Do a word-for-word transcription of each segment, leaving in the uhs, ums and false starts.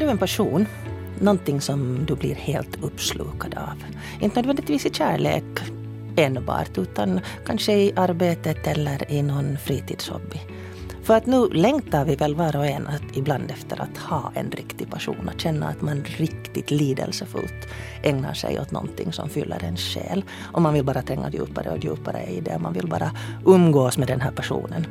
en passion? Någonting som du blir helt uppslukad av. Inte nödvändigtvis i kärlek enbart, utan kanske i arbetet eller i någon fritidshobby. För att nu längtar vi väl var och en att ibland efter att ha en riktig passion. Att känna att man riktigt lidelsefullt ägnar sig åt någonting som fyller en själ. Och man vill bara tränga djupare och djupare i det. Man vill bara umgås med den här personen.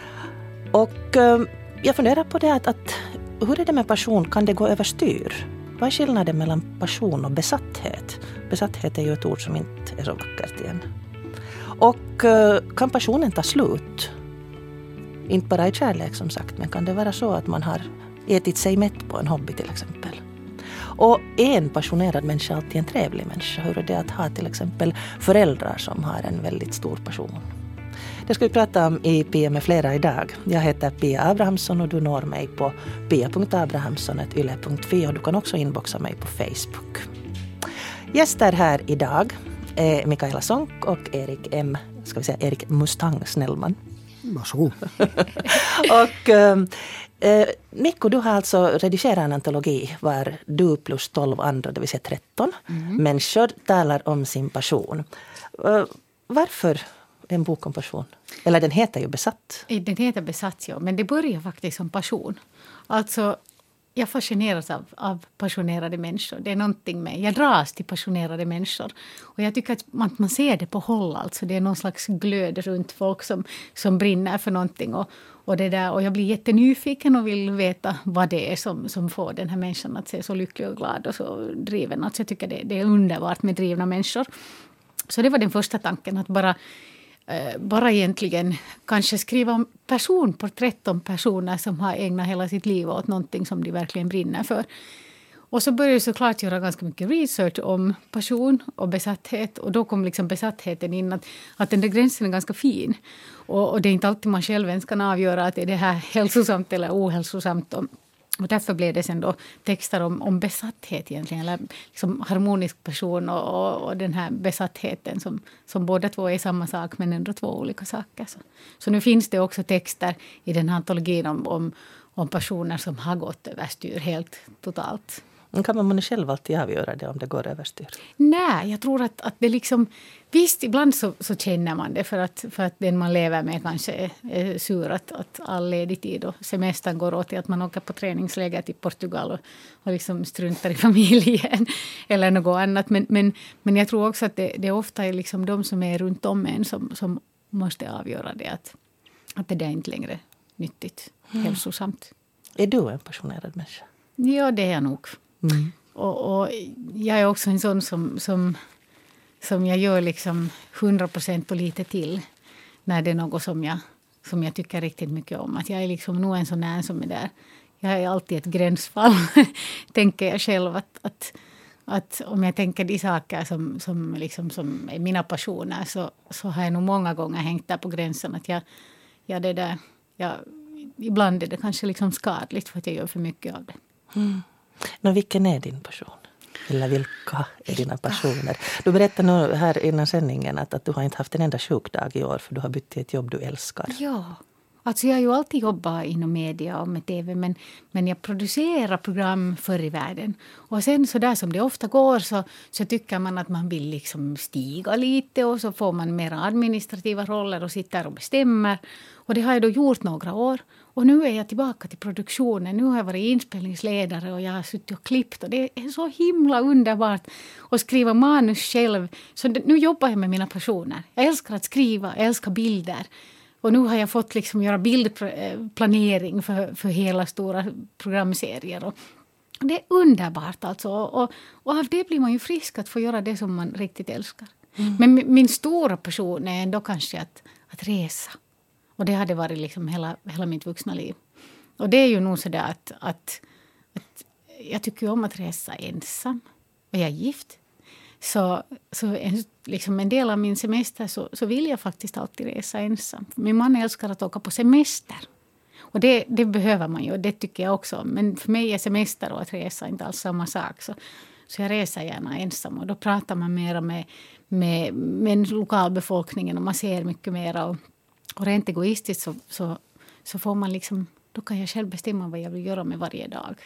Och eh, jag funderar på det att, att hur är det med passion? Kan det gå överstyr? Vad är skillnaden mellan passion och besatthet? Besatthet är ju ett ord som inte är så vackert igen. Och eh, kan passionen ta slut? Inte bara i kärlek som sagt, men kan det vara så att man har ätit sig mätt på en hobby till exempel? Och är en passionerad människa alltid en trevlig människa? Hur är det att ha till exempel föräldrar som har en väldigt stor passion? Det ska vi prata om i Pia med flera idag. Jag heter Pia Abrahamsson och du når mig på pia punkt abrahamsson snabel-a yle punkt fi och du kan också inboxa mig på Facebook. Gäster här idag är Mikaela Sonck och Erik M. Ska vi säga Erik Mustang Snellman. Varsågod. och eh, Mikko, du har alltså redigerat en antologi var du plus tolv andra, det vill säga tretton mm. människor talar om sin passion. Uh, varför en bok om passion? Eller den heter ju Besatt. Den heter Besatt, ja. Men det börjar faktiskt som passion. Alltså, jag fascineras av, av passionerade människor. Det är någonting med, jag dras till passionerade människor. Och jag tycker att man, man ser det på håll. Alltså. Det är någon slags glöd runt folk som, som brinner för någonting. Och, och, det där, och jag blir jättenyfiken och vill veta vad det är som, som får den här människan att se så lycklig och glad och så driven. Alltså jag tycker det, det är underbart med drivna människor. Så det var den första tanken, att bara... Bara egentligen kanske skriva om personporträtt om personer som har ägnat hela sitt liv åt någonting som de verkligen brinner för. Och så började jag såklart göra ganska mycket research om passion och besatthet. Och då kom liksom besattheten in att, att den där gränsen är ganska fin. Och, och det är inte alltid man själv ens kan avgöra att är det här hälsosamt eller ohälsosamt. Och, och därför blev det sen då texter om, om besatthet egentligen. Eller liksom harmonisk person och, och, och den här besattheten som, som båda två är samma sak men ändå två olika saker. Så, så nu finns det också texter i den här antologin om, om, om personer som har gått överstyr helt totalt. Kan man själv alltid avgöra det om det går överstyr? Nej, jag tror att, att det liksom... Visst, ibland så, så känner man det för att, för att den man lever med kanske är, är sur att, att all ledig tid och semestern går åt till att man åker på träningsläger till Portugal och, och liksom struntar i familjen eller något annat. Men, men, men jag tror också att det, det ofta är liksom de som är runt om en som, som måste avgöra det att, att det är inte längre nyttigt, mm. hälsosamt. Är du en passionerad människa? Ja, det är jag nog. Mm. Och, och jag är också en sån som, som, som jag gör liksom hundra procent på lite till när det är något som jag, som jag tycker riktigt mycket om. Att jag är liksom nog en sån här som är där. Jag är alltid ett gränsfall, tänker jag själv. Att, att, att om jag tänker de saker som, som, liksom, som är mina passioner så, så har jag nog många gånger hängt där på gränsen. Att jag, jag det där, jag, ibland är det kanske liksom skadligt för att jag gör för mycket av det. Mm. Men vilken är din passion? Eller vilka är dina passioner? Du berättade nu här innan sändningen att, att du har inte haft en enda sjukdag i år för du har bytt till ett jobb du älskar. Ja, alltså jag har ju alltid jobbat inom media och med tv men, men jag producerar program förr i världen. Och sen så där som det ofta går så, så tycker man att man vill liksom stiga lite och så får man mer administrativa roller och sitter och bestämmer. Och det har jag då gjort några år. Och nu är jag tillbaka till produktionen. Nu har jag varit inspelningsledare och jag har suttit och klippt. Och det är så himla underbart att skriva manus själv. Så nu jobbar jag med mina passioner. Jag älskar att skriva, jag älskar bilder. Och nu har jag fått liksom göra bildplanering för, för hela stora programserier. Och det är underbart alltså. Och, och av det blir man ju frisk att få göra det som man riktigt älskar. Mm. Men min, min stora passion är ändå kanske att, att resa. Och det hade varit liksom hela, hela mitt vuxna liv. Och det är ju nog så där att, att, att jag tycker om att resa ensam. Och jag är gift. Så, så en, liksom en del av min semester så, så vill jag faktiskt alltid resa ensam. Min man älskar att åka på semester. Och det, det behöver man ju och det tycker jag också. Men för mig är semester och att resa inte alls samma sak. Så, så jag reser gärna ensam. Och då pratar man mer med, med, med lokalbefolkningen och man ser mycket mer. Och, och rent egoistiskt så, så, så får man liksom, då kan jag själv bestämma vad jag vill göra med varje dag.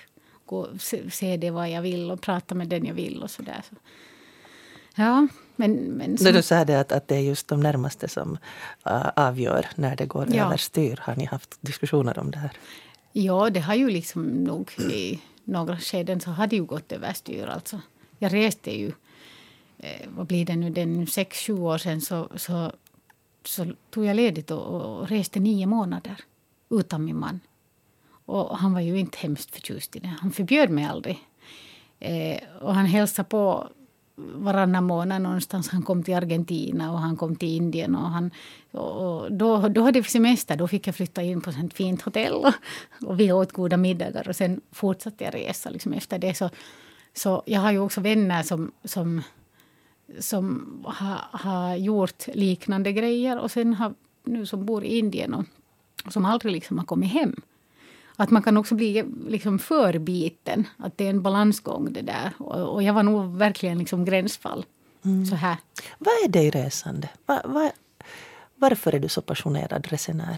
och se, se det vad jag vill och prata med den jag vill och sådär. Så. Ja, men... men som... När du sa det att, att det är just de närmaste som uh, avgör när det går ja. överstyr. Har ni haft diskussioner om det här? Ja, det har ju liksom nog i några skeden så har det ju gått överstyr. Alltså. Jag reste ju, eh, vad blir det nu, den sex, sju år sedan så, så, så tog jag ledigt och, och reste nio månader utan min man. Och han var ju inte hemskt förtjust i det. Han förbjöd mig aldrig. Eh, och han hälsade på varannan månad någonstans. Han kom till Argentina och han kom till Indien. Och, han, och då, då hade vi semester. Då fick jag flytta in på ett fint hotell. Och, och vi åt goda middagar. Och sen fortsatte jag resa liksom efter det. Så, så jag har ju också vänner som, som, som har, har gjort liknande grejer. Och sen har nu som bor i Indien och, och som aldrig liksom har kommit hem. Att man kan också bli liksom förbiten. Att det är en balansgång det där. Och, och jag var nog verkligen liksom gränsfall. Mm. Så här. Vad är det i resande? Va, va, varför är du så passionerad resenär?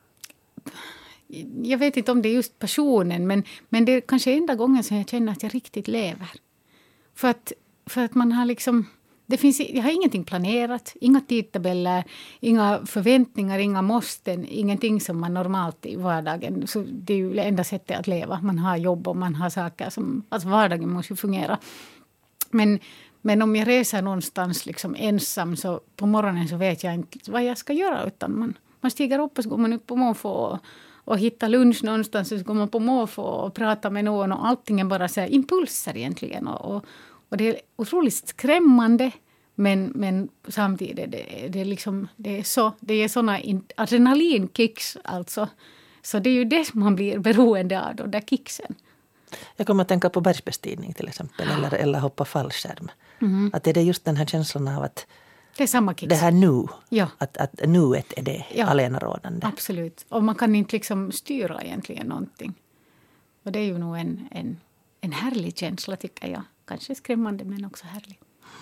Jag vet inte om det är just passionen. Men, men det är kanske enda gången som jag känner att jag riktigt lever. För att, för att man har liksom... Det finns, jag har ingenting planerat, inga tidtabeller, inga förväntningar, inga måsten, ingenting som man normalt i vardagen. Så det är ju det enda sättet att leva. Man har jobb och man har saker som... Alltså vardagen måste ju fungera. Men, men om jag reser någonstans liksom ensam så på morgonen så vet jag inte vad jag ska göra. Utan man, man stiger upp och så går man upp på måfå och, och hittar lunch någonstans. Och så går man på måfå och pratar med någon och allting är bara så här impulser egentligen. Och, och Och det är otroligt skrämmande, men, men samtidigt är det, det, är liksom, det är så, det är såna adrenalinkicks alltså. Så det är ju det som man blir beroende av, de där kicksen. Jag kommer att tänka på bergsbestigning till exempel, eller, eller hoppa fallskärm. Mm. Att det är just den här känslan av att det är samma kicks. Det här nu, ja. att, att nuet är det ja. allenarådande. Absolut, och man kan inte liksom styra egentligen någonting. Och det är ju nog en, en, en härlig känsla tycker jag. Kanske skrämmande men också härlig.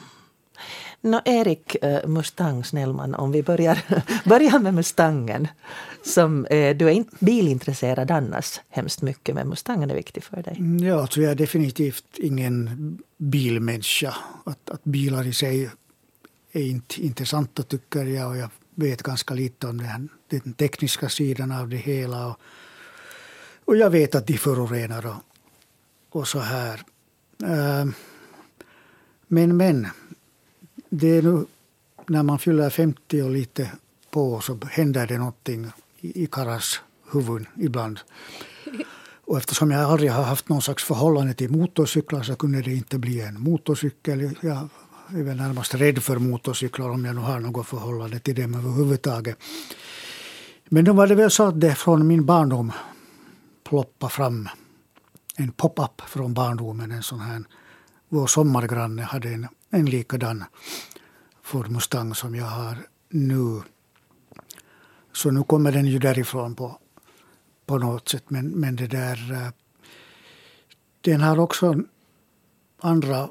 Nå, Erik uh, Mustang Snellman, om vi börjar, börjar med Mustangen. Som, uh, du är inte bilintresserad annars hemskt mycket, men Mustangen är viktig för dig. Ja, alltså jag är definitivt ingen bilmänniska. Att, att bilar i sig är inte intressanta tycker jag. Och jag vet ganska lite om den, den tekniska sidan av det hela. Och, och jag vet att de förorenar och, och så här. Uh, men, men det är nu när man fyller femtio och lite på så händer det någonting i, i Karas huvud ibland. Och eftersom jag aldrig har haft någon slags förhållande till motorcyklar så kunde det inte bli en motorcykel. Jag är väl närmast rädd för motorcyklar om jag nu har något förhållande till dem överhuvudtaget. Men då var det väl så att det från min barndom ploppade fram en pop-up från barndomen, en sån här. Vår sommargranne hade en, en likadan Ford Mustang som jag har nu. Så nu kommer den ju därifrån på, på något sätt. Men, men det där, den har också andra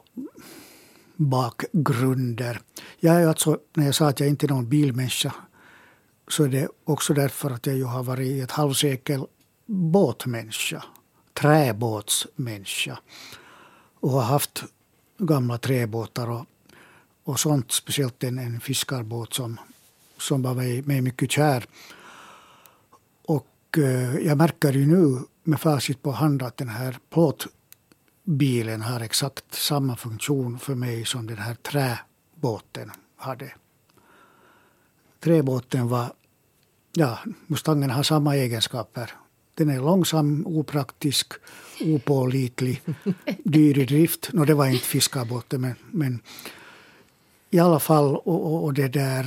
bakgrunder. Jag är alltså, när jag sa att jag inte är någon bilmänniska så är det också därför att jag ju har varit i ett halvsekel båtmänniska. Träbåtsmänniska och har haft gamla träbåtar och, och sånt, speciellt en, en fiskarbåt som, som var mig, mig mycket kär. Och eh, jag märker ju nu med facit på hand att den här plåtbilen har exakt samma funktion för mig som den här träbåten hade. Träbåten var, ja, Mustangen har samma egenskaper. Den är långsam, opraktisk, opålitlig, dyr i drift. Nå, det var inte fiskarbåten, men, men i alla fall, och, och, och det där,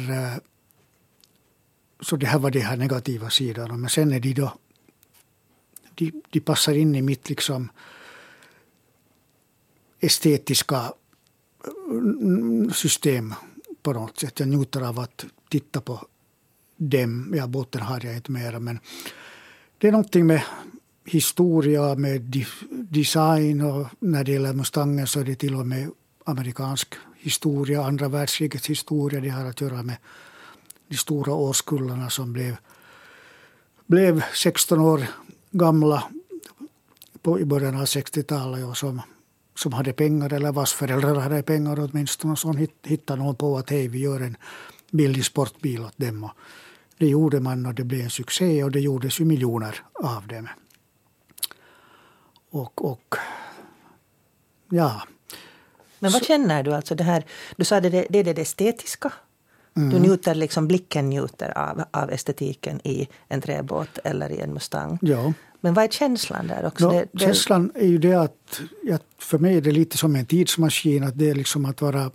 så det här var det här negativa sidan. Men sen är de då, de, de passar in i mitt liksom estetiska system på något sätt. Jag njuter av att titta på dem. Ja, båten har jag inte mera, men det är någonting med historia, med design och när det gäller Mustangen så är det till och med amerikansk historia, andra världskrigets historia. Det har att göra med de stora årskullarna som blev, blev sexton år gamla på, i början av sextiotalet och som, som hade pengar eller vars föräldrar hade pengar åtminstone. Och så hittade någon på att hej, vi gör en billig sportbil åt dem. Och det gjorde man och det blev en succé och det gjordes ju miljoner av dem. Och, och ja. Men vad så, känner du alltså det här? Du sa det, det är det estetiska. Mm. Du njuter liksom, blicken njuter av, av estetiken i en träbåt eller i en Mustang. Ja. Men vad är känslan där också? No, det, det... Känslan är ju det att, att för mig är det lite som en tidsmaskin. Att det är liksom att vara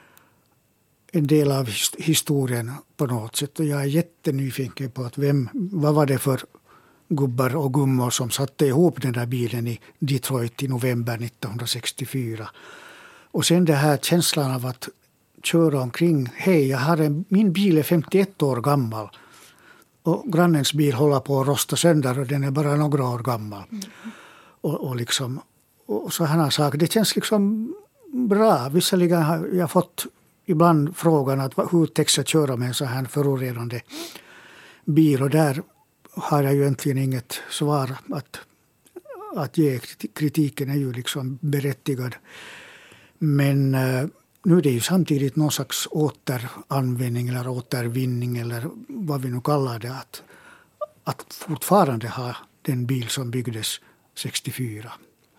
en del av historien på något sätt. Och jag är jättenyfiken på att vem, vad var det för gubbar och gummor som satte ihop den där bilen i Detroit i november nittonhundrasextiofyra. Och sen det här känslan av att köra omkring. Hej, jag har en, min bil är femtioett år gammal. Och grannens bil håller på att rosta sönder och den är bara några år gammal. Mm. Och, och, liksom, och så här saker. Det känns liksom bra. Visserligen har jag fått ibland frågan att hur täcks jag köra med en så här förorenande bil. Och där har jag ju egentligen inget svar att, att ge. Kritiken är ju liksom berättigad. Men nu är det ju samtidigt någon slags återanvändning eller återvinning eller vad vi nu kallar det. Att, att fortfarande ha den bil som byggdes sextiofyra.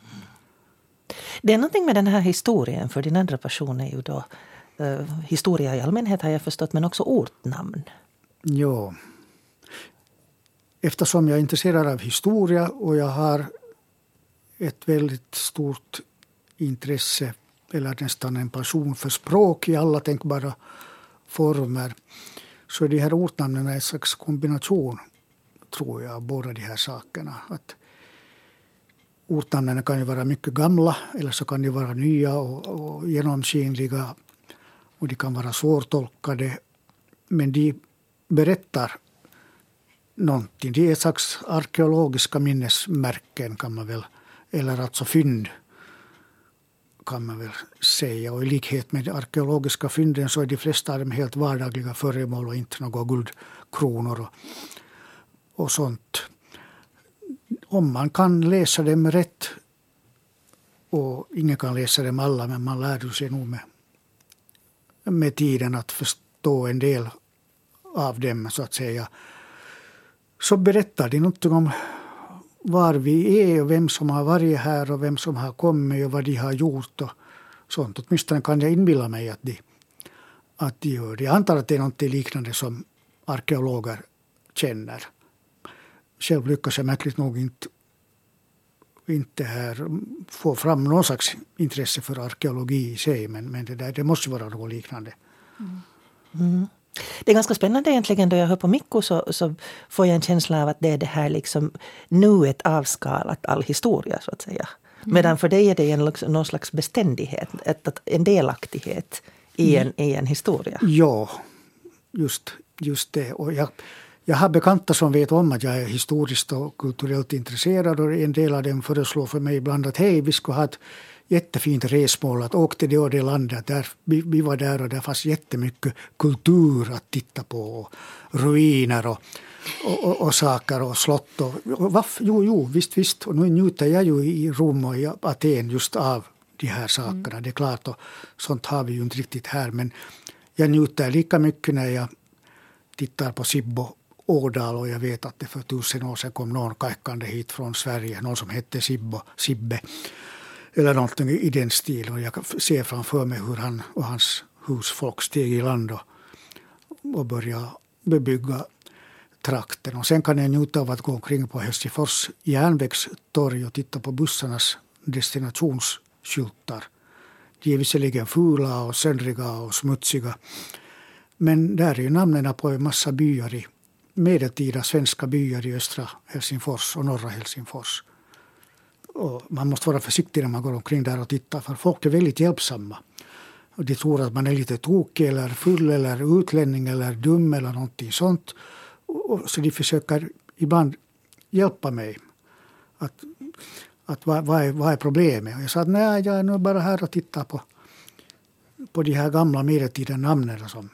Det är någonting med den här historien, för din andra passion är ju då uh, historia i allmänhet har jag förstått, men också ortnamn. Ja. Eftersom jag är intresserad av historia och jag har ett väldigt stort intresse eller nästan en passion för språk i alla tänkbara former, så är de här ortnamnen en slags kombination, tror jag, av båda de här sakerna. Att ortnamnen kan ju vara mycket gamla eller så kan de vara nya och, och genomskinliga och de kan vara svårtolkade, men de berättar någonting. Det är ett slags arkeologiska minnesmärken kan man väl, eller alltså fynd kan man väl säga. Och i likhet med arkeologiska fynden så är de flesta av dem helt vardagliga föremål och inte några guldkronor och, och sånt. Om man kan läsa dem rätt, och ingen kan läsa dem alla, men man lär sig nog med, med tiden att förstå en del av dem så att säga, så berättar de något om var vi är och vem som har varit här och vem som har kommit och vad de har gjort och sånt. Åtminstone kan jag inbilla mig att de, att de gör det. Jag antar att det är något liknande som arkeologer känner. Själv lyckas jag märkligt nog inte, inte här få fram någon slags intresse för arkeologi i sig, men, men det, där, det måste vara något liknande. Mm. Mm. Det är ganska spännande egentligen, då jag hör på Mikko så, så får jag en känsla av att det är det här liksom nuet avskalat all historia så att säga. Mm. Medan för dig är det en, någon slags beständighet, ett, en delaktighet i en, mm. i en historia. Ja, just, just det. Och jag, jag har bekanta som vet om att jag är historiskt och kulturellt intresserad, och en del av dem föreslår för mig ibland att hej, vi ska ha ett jättefint resmål, att åka till det och det landet. Där, vi, vi var där och där fanns jättemycket kultur att titta på. Och ruiner och, och, och, och saker och slott. Och, och, vaff, jo, jo, visst, visst. Och nu njuter jag ju i Rom och i Aten just av de här sakerna. Mm. Det är klart, och sånt har vi ju inte riktigt här. Men jag njuter lika mycket när jag tittar på Sibbo Ådal, och jag vet att det för tusen år sedan kom någon kajkande hit från Sverige. Någon som hette Sibbo, Sibbe. Eller någonting i den stilen. Och jag ser framför mig hur han och hans husfolk steg i land och, och började bebygga trakten. Och sen kan jag njuta av att gå omkring på Helsingfors järnvägstorg och titta på bussarnas destinationsskyltar. De är visserligen fula och söndriga och smutsiga. Men där är ju namnen på en massa byar i medeltida svenska byar i östra Helsingfors och norra Helsingfors. Och man måste vara försiktig när man går omkring där och tittar, för folk är väldigt hjälpsamma. Och de tror att man är lite tokig eller full eller utlänning eller dum eller någonting sånt. Och så de försöker ibland hjälpa mig. Att, att vad, vad, är, vad är problemet? Och jag sa att nej, jag är nu bara här och tittar på, på de här gamla medeltida namnen, som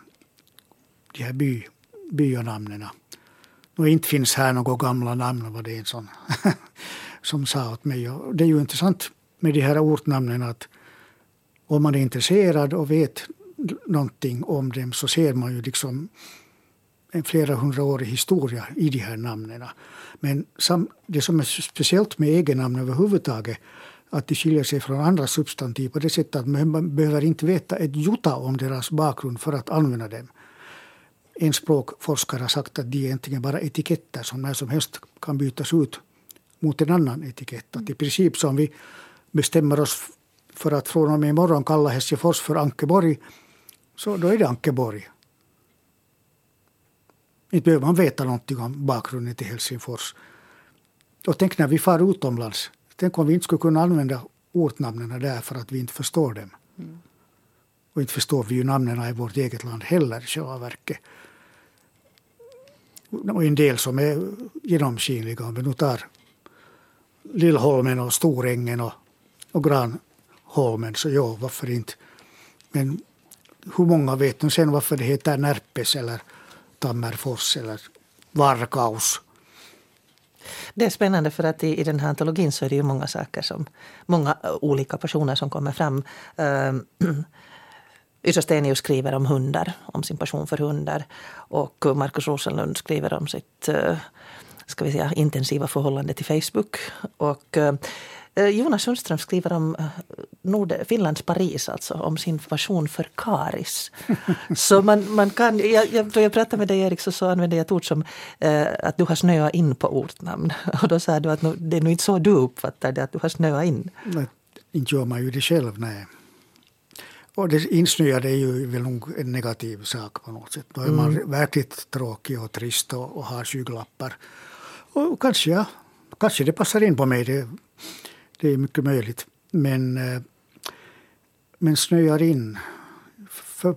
de här by, byanamnen. Och inte finns här några gamla namn, vad det är en sån... som sa åt mig. Och det är ju intressant med de här ortnamnen att om man är intresserad och vet någonting om dem så ser man ju liksom en flera hundraårig historia i de här namnen. Men det som är speciellt med egennamn överhuvudtaget att de skiljer sig från andra substantiv på det sättet att man behöver inte veta ett jota om deras bakgrund för att använda dem. En språkforskare har sagt att de är egentligen bara etiketter som när som helst kan bytas ut mot en annan etikett. Att i princip som vi bestämmer oss för att från och med imorgon kalla Helsingfors för Ankeborg, så då är det Ankeborg. Inte behöver man veta någonting om bakgrunden till Helsingfors. Och tänk när vi far utomlands. Tänk om vi inte skulle kunna använda ortnamnen där för att vi inte förstår dem. Mm. Och inte förstår vi ju namnen i vårt eget land heller i själva verket. Och en del som är genomskinliga. Om vi nu tar Lillholmen och Storängen och, och Granholmen, så ja, varför inte. Men hur många vet nu sen varför det heter Närpes eller Tammerfors eller Varkaus? Det är spännande för att i, i den här antologin så är det ju många saker som, många olika personer som kommer fram. Uh, Yrsa Stenius skriver om hundar, om sin passion för hundar. Och Markus Rosenlund skriver om sitt uh, ska vi säga, intensiva förhållande till Facebook. Och uh, Jonas Sundström skriver om Nord- Finlands Paris, alltså om sin passion för karis. Så man, man kan, jag, jag, då jag pratade med dig Erik så, så använde jag ett ord som eh, att du har snöat in på ortnamn. Och då sa du att nu, det är nog inte så du uppfattar det, att du har snöat in. Nej, inte gör man ju det själv, nej. Och det insnöade är ju väl nog en negativ sak på något sätt. Då är mm. man verkligt tråkig och trist och, och har skygglappar. Och kanske, ja, kanske det passar in på mig, det Det är mycket möjligt. Men, men snöar in. För,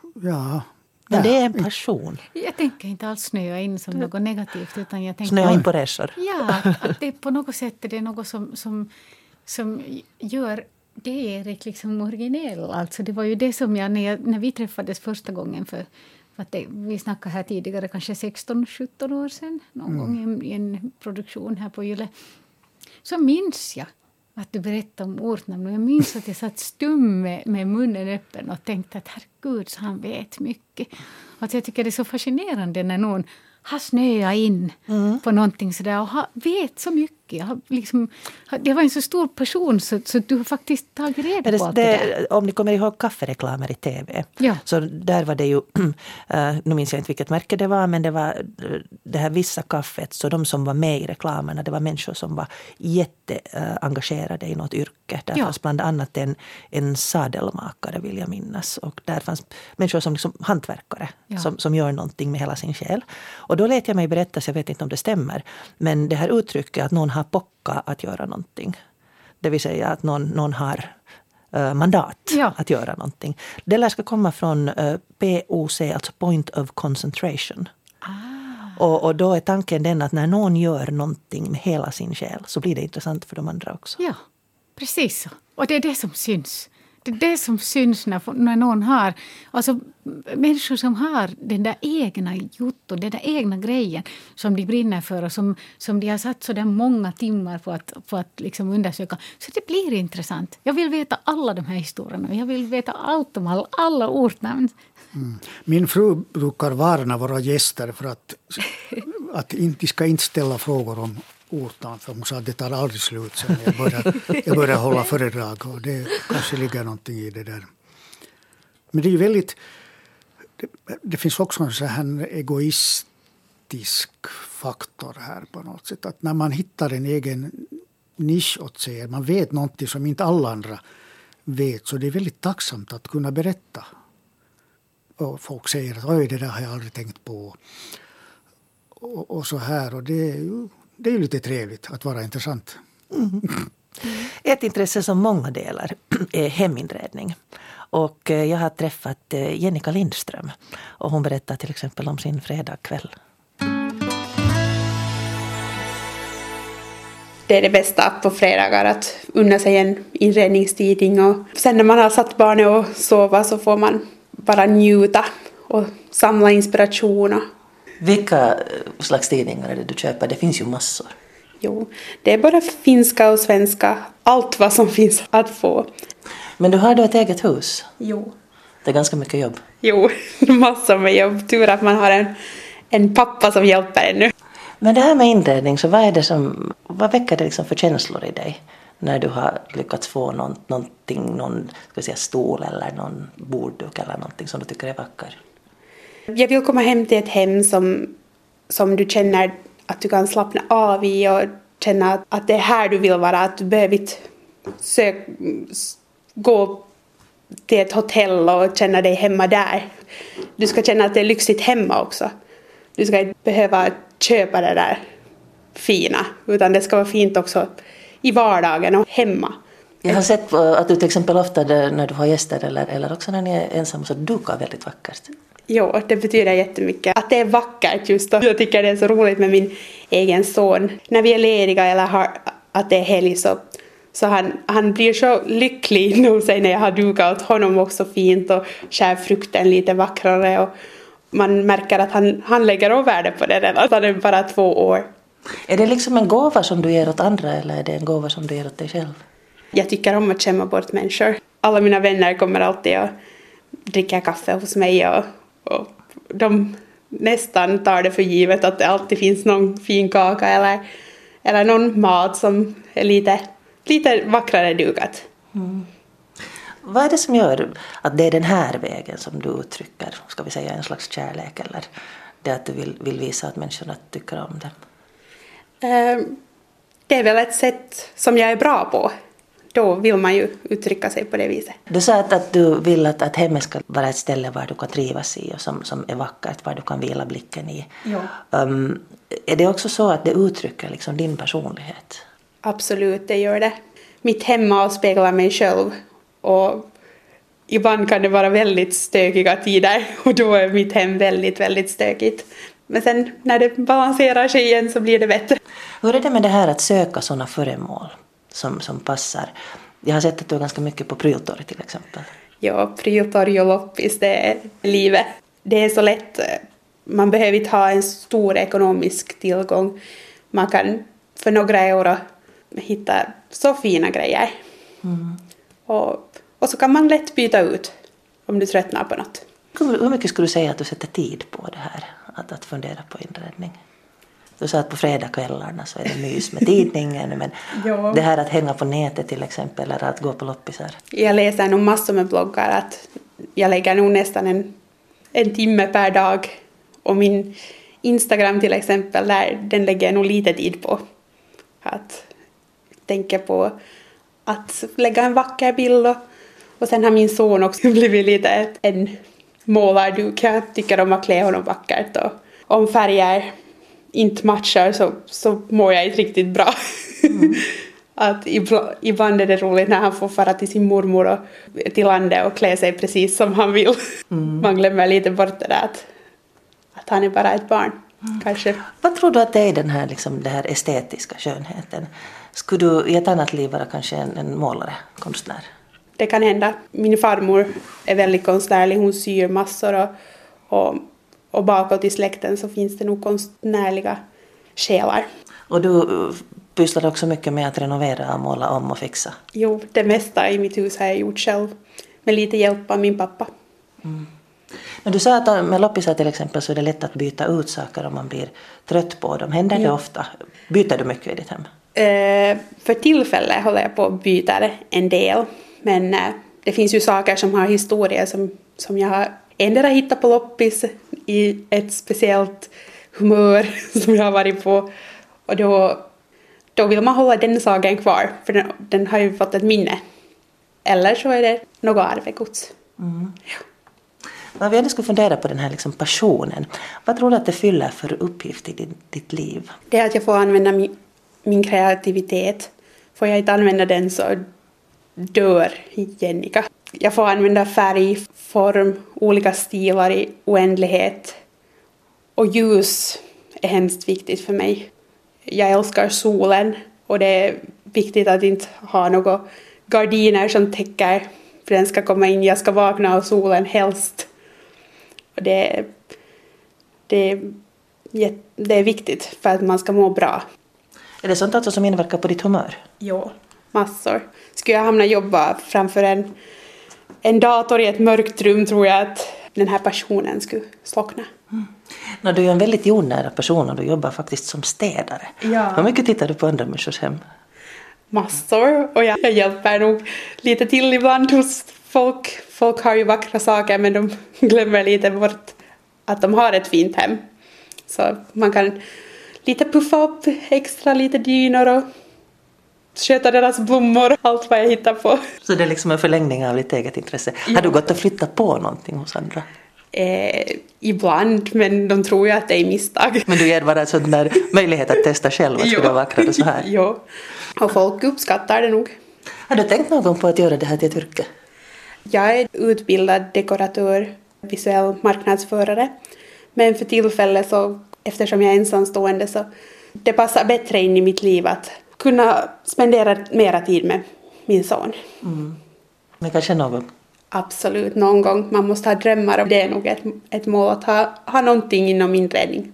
ja. Men det är en passion. Jag tänker inte alls snöa in som något negativt. Utan jag tänker, snöa in på resor. Ja, att, att det på något sätt är det något som, som, som gör det Erik liksom originell. Alltså det var ju det som jag, när, jag, när vi träffades första gången för... För att det, vi snackade här tidigare kanske sexton sjutton år sedan. Någon mm. gång i en, i en produktion här på Yle. Så minns jag att du berättade om ortnamn. Och jag minns att jag satt stum med, med munnen öppen och tänkte att herregud, så han vet mycket. Att jag tycker det är så fascinerande när någon har snöat in mm. på någonting sådär och har, vet så mycket. Har liksom, det var en så stor person så, så du har faktiskt tagit reda på allt det, det där. Om ni kommer ihåg kaffereklamer i tv. Ja. Så där var det ju, äh, nu minns jag inte vilket märke det var, men det var det här vissa kaffet. Så de som var med i reklamerna, det var människor som var jätteengagerade äh, i något yrke. Där ja. fanns bland annat en, en sadelmakare, vill jag minnas. Och där fanns människor som liksom hantverkare ja. som, som gör någonting med hela sin själ. Och då lät jag mig berätta, så jag vet inte om det stämmer, men det här uttrycket att någon har pocka att göra någonting. Det vill säga att någon, någon har uh, mandat ja. att göra någonting. Det lär ska komma från uh, P O C, alltså point of concentration. Ah. Och, och då är tanken den att när någon gör någonting med hela sin själ så blir det intressant för de andra också. Ja, precis så. Och det är det som syns. Det är det som syns när, när någon har, alltså människor som har den där egna jotto, den där egna grejen som de brinner för och som, som de har satt så där många timmar på att, på att liksom undersöka. Så det blir intressant. Jag vill veta alla de här historierna. Jag vill veta allt om alla, alla ortnamn. Mm. Min fru brukar varna våra gäster för att, att de ska inte ställa frågor om ortan, för hon sa att det tar aldrig slut sen jag började, jag började hålla föredrag och det kanske ligger någonting i det där. Men det är ju väldigt, det, det finns också en sån här egoistisk faktor här på något sätt, att när man hittar en egen nisch åt sig, man vet någonting som inte alla andra vet, så det är väldigt tacksamt att kunna berätta. Och folk säger att oj, det där har jag aldrig tänkt på och, och så här, och det är ju Det är ju lite trevligt att vara intressant. Mm. Ett intresse som många delar är heminredning. Och jag har träffat Jennica Lindström. Och hon berättar till exempel om sin fredagkväll. Det är det bästa på fredagar, att unna sig en inredningstidning. Och sen när man har satt barnet och sova så får man bara njuta och samla inspiration. Vilka slags tidningar är det du köper? Det finns ju massor. Jo, det är både finska och svenska. Allt vad som finns att få. Men du har då ett eget hus? Jo. Det är ganska mycket jobb. Jo, massor med jobb. Tur att man har en, en pappa som hjälper en nu. Men det här med inredning, så vad är det som, vad väcker det liksom för känslor i dig när du har lyckats få någon, någonting, någon ska vi säga, stol eller någon bordduk eller någonting som du tycker är vacker? Jag vill komma hem till ett hem som, som du känner att du kan slappna av i och känna att, att det är här du vill vara, att du behöver inte sök, gå till ett hotell och känna dig hemma där. Du ska känna att det är lyxigt hemma också. Du ska inte behöva köpa det där fina, utan det ska vara fint också i vardagen och hemma. Jag har sett att du till exempel ofta när du har gäster eller, eller också när ni är ensamma så dukar väldigt vackert. Jo, det betyder jättemycket. Att det är vackert just då. Jag tycker det är så roligt med min egen son. När vi är lediga eller har, att det är helg så, så han, han blir så lycklig inom sig när jag har dukat åt honom också fint och skär frukten lite vackrare. Och man märker att han, han lägger av värde på det redan. Han är bara två år. Är det liksom en gåva som du ger åt andra eller är det en gåva som du ger åt dig själv? Jag tycker om att skämma bort människor. Alla mina vänner kommer alltid och dricker kaffe hos mig och, och de nästan tar det för givet att det alltid finns någon fin kaka eller, eller någon mat som är lite, lite vackrare dukat. Mm. Vad är det som gör att det är den här vägen som du uttrycker, ska vi säga en slags kärlek eller det att du vill, vill visa att människorna tycker om det? Det är väl ett sätt som jag är bra på. Då vill man ju uttrycka sig på det viset. Du sa att, att du vill att, att hemmet ska vara ett ställe var du kan trivas i och som, som är vackert, var du kan vila blicken i. Ja. Um, är det också så att det uttrycker liksom din personlighet? Absolut, det gör det. Mitt hem avspeglar mig själv och ibland kan det vara väldigt stökiga tider och då är mitt hem väldigt, väldigt stökigt. Men sen när det balanserar sig igen så blir det bättre. Hur är det med det här att söka sådana föremål som, som passar? Jag har sett att du är ganska mycket på Pryltorg till exempel. Ja, Pryltorg och loppis, det är livet. Det är så lätt. Man behöver inte ha en stor ekonomisk tillgång. Man kan för några euro hitta så fina grejer. Mm. Och, och så kan man lätt byta ut om du tröttnar på något. Hur mycket skulle du säga att du sätter tid på det här? Att, att fundera på inredning? Du sa att på fredagskvällarna så är det mys med tidningen. Men ja. Det här att hänga på nätet till exempel eller att gå på loppisar. Jag läser nog massor med bloggar. Att jag lägger nog nästan en, en timme per dag. Och min Instagram till exempel, där, den lägger jag nog lite tid på. Att tänka på att lägga en vacker bild. Och, och sen har min son också blivit lite en målarduk. Jag tycker om att klä honom vackert. Och om färger inte matchar så, så mår jag inte riktigt bra. Mm. Att ibland är det roligt när han får fara till sin mormor och till landet och klä sig precis som han vill. Mm. Man glömmer lite bort det där att, att han är bara ett barn. Mm. Kanske. Vad tror du att det är den här, liksom, den här estetiska skönheten? Skulle du i ett annat liv vara kanske en, en målare, konstnär? Det kan hända. Min farmor är väldigt konstnärlig. Hon syr massor och, och, och bakåt i släkten så finns det nog konstnärliga själar. Och du pysslar också mycket med att renovera, måla om och fixa? Jo, det mesta i mitt hus har jag gjort själv. Med lite hjälp av min pappa. Mm. Men du sa att med loppisar till exempel så är det lätt att byta ut saker om man blir trött på dem. Händer ja. det ofta? Byter du mycket i ditt hem? Eh, för tillfället håller jag på att byta en del. Men eh, det finns ju saker som har historia som, som jag har ändå hittat på loppis i ett speciellt humör som jag har varit på. Och då, då vill man hålla den saken kvar för den, den har ju fått ett minne. Eller så är det något arvegods. Mm. Ja. Om vi ändå skulle fundera på den här liksom passionen. Vad tror du att det fyller för uppgift i din, ditt liv? Det är att jag får använda min, min kreativitet. Får jag inte använda den så dör Jennica. Jag får använda färg, form, olika stilar i oändlighet. Och ljus är hemskt viktigt för mig. Jag älskar solen och det är viktigt att inte ha några gardiner som täcker för den ska komma in. Jag ska vakna av solen helst. Och det, det, det är viktigt för att man ska må bra. Är det sånt alltså som inverkar på ditt humör? Jo, massor. Skulle jag hamna och jobba framför en, en dator i ett mörkt rum tror jag att den här passionen skulle slockna. Mm. No, du är en väldigt jordnära person och du jobbar faktiskt som städare. Ja. Hur mycket tittar du på andra människors hem? Massor. Och jag, jag hjälper nog lite till ibland hos folk. Folk har ju vackra saker men de glömmer lite bort att de har ett fint hem. Så man kan lite puffa upp extra lite dynor och sköta deras blommor, allt vad jag hittar på. Så det är liksom en förlängning av ditt eget intresse. Ja. Har du gått och flyttat på någonting hos andra? Eh, ibland, men de tror ju att det är misstag. Men du ger bara en sån där möjlighet att testa själv att det var vackrare så här. Jo, och folk uppskattar det nog. Har du tänkt någon gång på att göra det här till ett yrke? Jag är utbildad dekoratör, visuell marknadsförare. Men för tillfället så, eftersom jag är ensamstående så det passar bättre in i mitt liv att kunna spendera mera tid med min son. Mm. Men kanske någon gång? Absolut, någon gång. Man måste ha drömmar och det är nog ett, ett mål att ha, ha någonting inom inredning.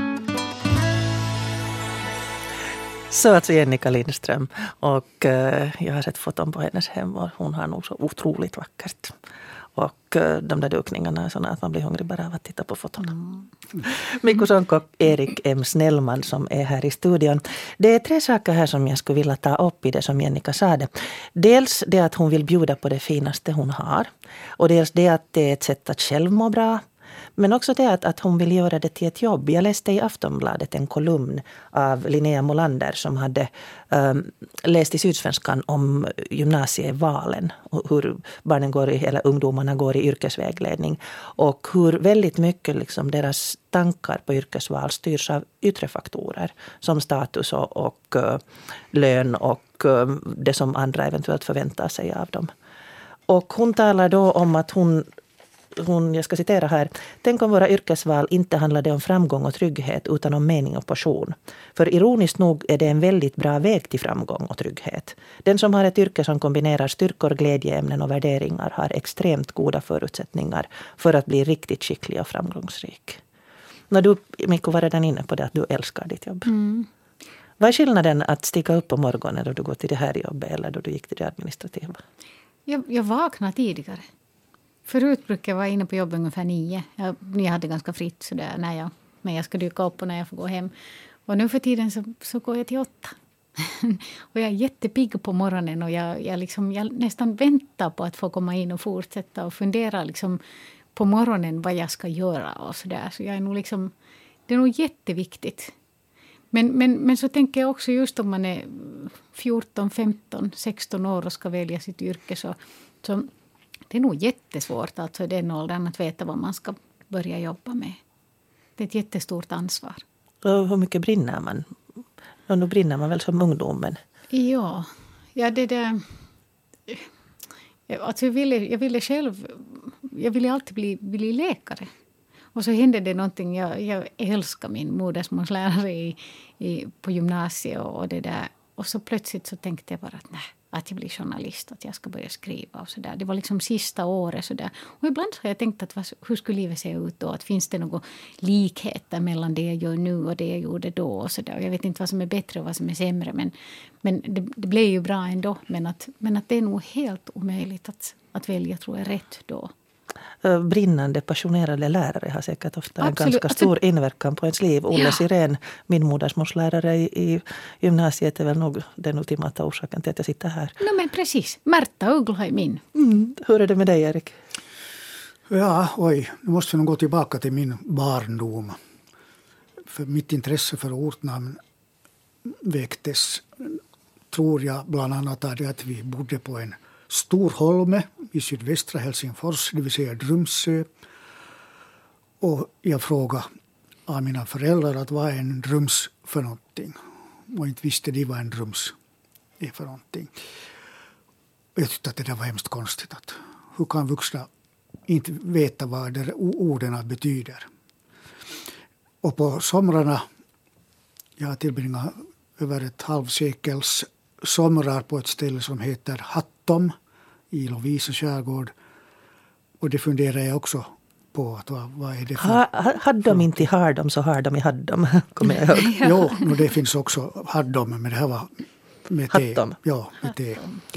Så alltså Jennica Lindström och uh, jag har sett foton på hennes hem och hon har nog så otroligt vackert. Och uh, de där dukningarna är sådana att man blir hungrig bara av att titta på fotona. Mm. Mikko Sonko och Erik M. Snellman som är här i studion. Det är tre saker här som jag skulle vilja ta upp i det som Jennica sa det. Dels det att hon vill bjuda på det finaste hon har. Och dels det att det är ett sätt att själv må bra. Men också det att, att hon vill göra det till ett jobb. Jag läste i Aftonbladet en kolumn av Linnea Molander som hade um, läst i Sydsvenskan om gymnasievalen. Och hur barnen går i, eller ungdomarna går i yrkesvägledning. Och hur väldigt mycket liksom deras tankar på yrkesval styrs av yttre faktorer. Som status och, och uh, lön och uh, det som andra eventuellt förväntar sig av dem. Och hon talar då om att hon... Hon, jag ska citera här. Tänk om våra yrkesval inte handlade om framgång och trygghet utan om mening och passion. För ironiskt nog är det en väldigt bra väg till framgång och trygghet. Den som har ett yrke som kombinerar styrkor, glädjeämnen och värderingar har extremt goda förutsättningar för att bli riktigt skicklig och framgångsrik. När du, Mikko, var redan inne på det att du älskar ditt jobb. Mm. Vad är skillnaden att stiga upp på morgonen då du går till det här jobbet eller då du gick till det administrativa? Jag, jag vaknade tidigare. Förut brukade jag vara inne på jobbet ungefär nio. Jag, jag hade ganska fritt sådär när jag, när jag ska dyka upp och när jag får gå hem. Och nu för tiden så, så går jag till åtta. Och jag är jättepigg på morgonen och jag, jag, liksom, jag nästan väntar på att få komma in och fortsätta och fundera liksom på morgonen vad jag ska göra och sådär. Så jag är nog liksom, det är nog jätteviktigt. Men, men, men så tänker jag också just om man är fjorton, femton, sexton år och ska välja sitt yrke så... så det är nog jättesvårt alltså i den åldern att veta vad man ska börja jobba med. Det är ett jättestort ansvar. Och hur mycket brinner man? Och nu brinner man väl som ungdom, men... Ja, ja det där... Alltså jag ville, jag ville själv... Jag ville alltid bli, bli läkare. Och så hände det någonting. Jag, jag älskar min modersmålslärare i, i, på gymnasiet och, och det där. Och så plötsligt så tänkte jag bara att nej. Att jag blir journalist, att jag ska börja skriva och sådär. Det var liksom sista året sådär. Och ibland har jag tänkt att vad, hur skulle livet se ut då? Att finns det några likheter mellan det jag gör nu och det jag gjorde då och sådär. Och jag vet inte vad som är bättre och vad som är sämre. Men, men det, det blev ju bra ändå. Men att, men att det är nog helt omöjligt att, att välja tror jag rätt då. Brinnande, passionerade lärare har säkert ofta en Absolut. ganska stor alltså, inverkan på ens liv. Olle ja. Sirén, min modersmålslärare i, i gymnasiet är väl nog den ultimata orsaken till att jag sitter här. No, men precis, Märta Uggla är min. Mm. Hur är det med dig, Erik? Ja, oj, nu måste vi nog gå tillbaka till min barndom. För mitt intresse för ortnamn väcktes, tror jag, bland annat av det att vi bodde på en Storholme i sydvästra Helsingfors, det vill säga Drumsö. Och jag frågade av mina föräldrar att vad är en drums för någonting. Och inte visste de vad en drums är för någonting. Och jag tyckte att det där var hemskt konstigt. Att hur kan vuxna inte veta vad de orden betyder? Och på somrarna, jag har tillbringat över ett halvsekels somrar på ett ställe som heter Hattom i Lovisa skärgård. Och det funderar jag också på att vad, vad är det för... Ha, ha, hade de inte har de så har de i hade de, kommer jag ihåg. Jo, no, det finns också hade de, men det här var med te. Hattom. Ja, med te. te.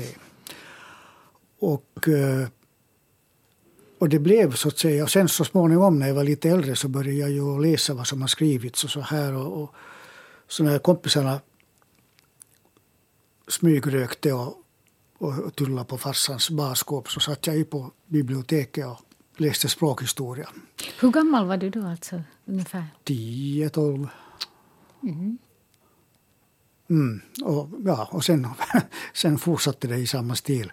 Och, och det blev så att säga, och sen så småningom när jag var lite äldre så började jag ju läsa vad som har skrivits och så här. Och, och så när kompisarna smygrökte och, och tullade på farsans barskåp så satt jag ju på biblioteket och läste språkhistoria. Hur gammal var du då alltså ungefär? tio, tolv. Mm. Mm, och, ja, och sen, sen fortsatte det i samma stil.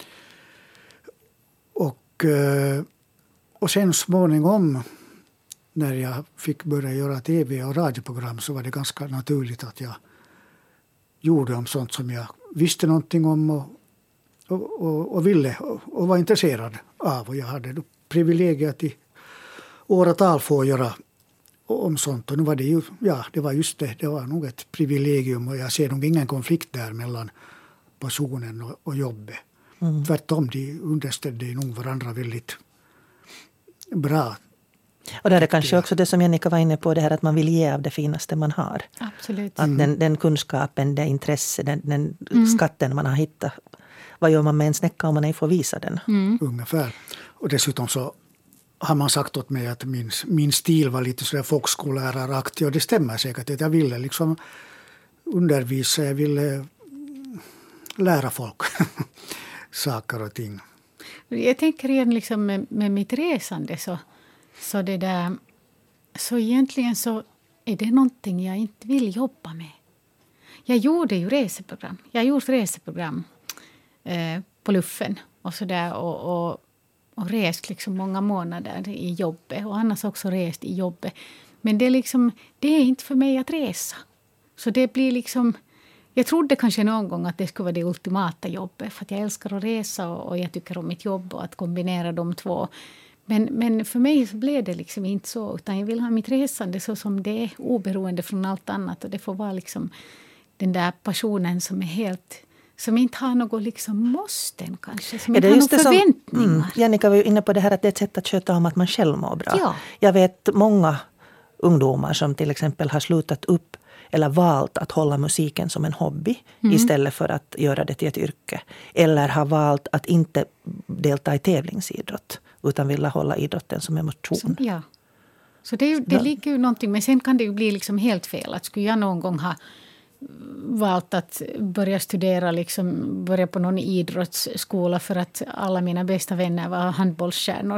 Och, och sen småningom när jag fick börja göra tv- och radioprogram så var det ganska naturligt att jag gjorde om sånt som jag visste någonting om och, och, och, och ville och, och var intresserad av. Och jag hade då privilegiet i åratal få göra om sånt. Och nu var det ju, ja, det var just det, det var nog ett privilegium och jag ser nog ingen konflikt där mellan passionen och, och jobbet. Mm. Tvärtom, de understödde nog varandra väldigt bra. Och där är kanske också det som Jennica var inne på, det här att man vill ge av det finaste man har. Absolut. Att den, den kunskapen, det intresse, den, den mm. skatten man har hittat. Vad gör man med en snäcka om man inte får visa den? Mm. Ungefär. Och dessutom så har man sagt åt mig att min, min stil var lite sådär folkskoläraraktig och det stämmer säkert att jag ville liksom undervisa, jag ville lära folk saker och ting. Jag tänker igen liksom med, med mitt resande så, så det där så egentligen så är det någonting jag inte vill jobba med. Jag gjorde ju reseprogram. Jag har gjort reseprogram eh, på luffen och sådär och, och, och rest liksom många månader i jobbet och annars också rest i jobbet. Men det är liksom det är inte för mig att resa. Så det blir liksom jag trodde kanske någon gång att det skulle vara det ultimata jobbet för att jag älskar att resa och, och jag tycker om mitt jobb och att kombinera de två. Men, men för mig så blev det liksom inte så utan jag vill ha mitt resande så som det är oberoende från allt annat och det får vara liksom den där passionen som är helt som inte har något liksom måsten kanske som inte har några förväntningar. Mm, Jennica var ju inne på det här att det är ett sätt att sköta om att man själv mår bra. Ja. Jag vet många ungdomar som till exempel har slutat upp eller valt att hålla musiken som en hobby mm. istället för att göra det till ett yrke. Eller har valt att inte delta i tävlingsidrott utan vill hålla idrotten som en motion. Så, ja. Så det, det ligger ju någonting, men sen kan det ju bli liksom helt fel. Att skulle jag någon gång ha valt att börja studera, liksom börja på någon idrottsskola för att alla mina bästa vänner var handbollsstjärnor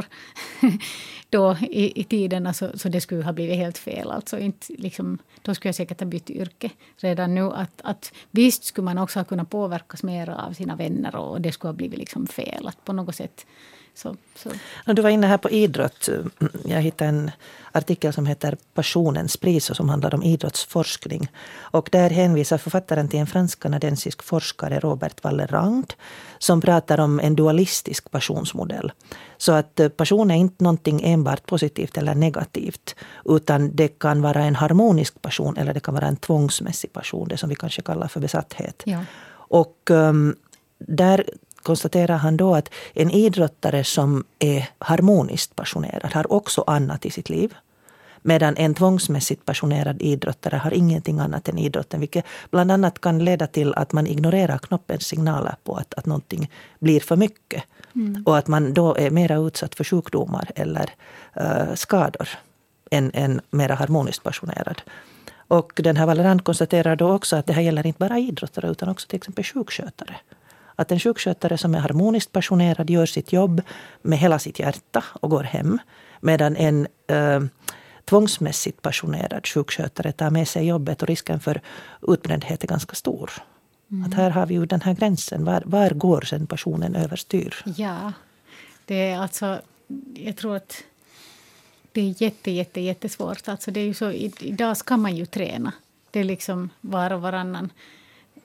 då i, i tiden, alltså, så det skulle ha blivit helt fel. Alltså inte, liksom, då skulle jag säkert ha bytt yrke redan nu. Att, att visst skulle man också ha kunnat påverkas mer av sina vänner och det skulle ha blivit liksom fel. Att på något sätt Så, så. Du var inne här på idrott. Jag hittade en artikel som heter Passionens pris och som handlar om idrottsforskning. Och där hänvisar författaren till en fransk-kanadensisk forskare, Robert Wallerand, som pratar om en dualistisk passionsmodell. Så att passion är inte någonting enbart positivt eller negativt, utan det kan vara en harmonisk passion eller det kan vara en tvångsmässig passion, det som vi kanske kallar för besatthet. Ja. Och um, där konstaterar han då att en idrottare som är harmoniskt passionerad har också annat i sitt liv. Medan en tvångsmässigt passionerad idrottare har ingenting annat än idrotten. Vilket bland annat kan leda till att man ignorerar knoppens signaler på att, att någonting blir för mycket. Mm. Och att man då är mer utsatt för sjukdomar eller uh, skador än en mer harmoniskt passionerad. Och den här Wallerand konstaterar då också att det här gäller inte bara idrottare utan också till exempel sjukskötare. Att en sjukskötare som är harmoniskt passionerad gör sitt jobb med hela sitt hjärta och går hem. Medan en eh, tvångsmässigt passionerad sjukskötare tar med sig jobbet och risken för utbrändhet är ganska stor. Mm. Att här har vi ju den här gränsen. Var, var går sen passionen överstyr? Ja, det är alltså, jag tror att det är jätte, jätte, jättesvårt. Alltså det är ju så, idag ska man ju träna. Det är liksom var och varannan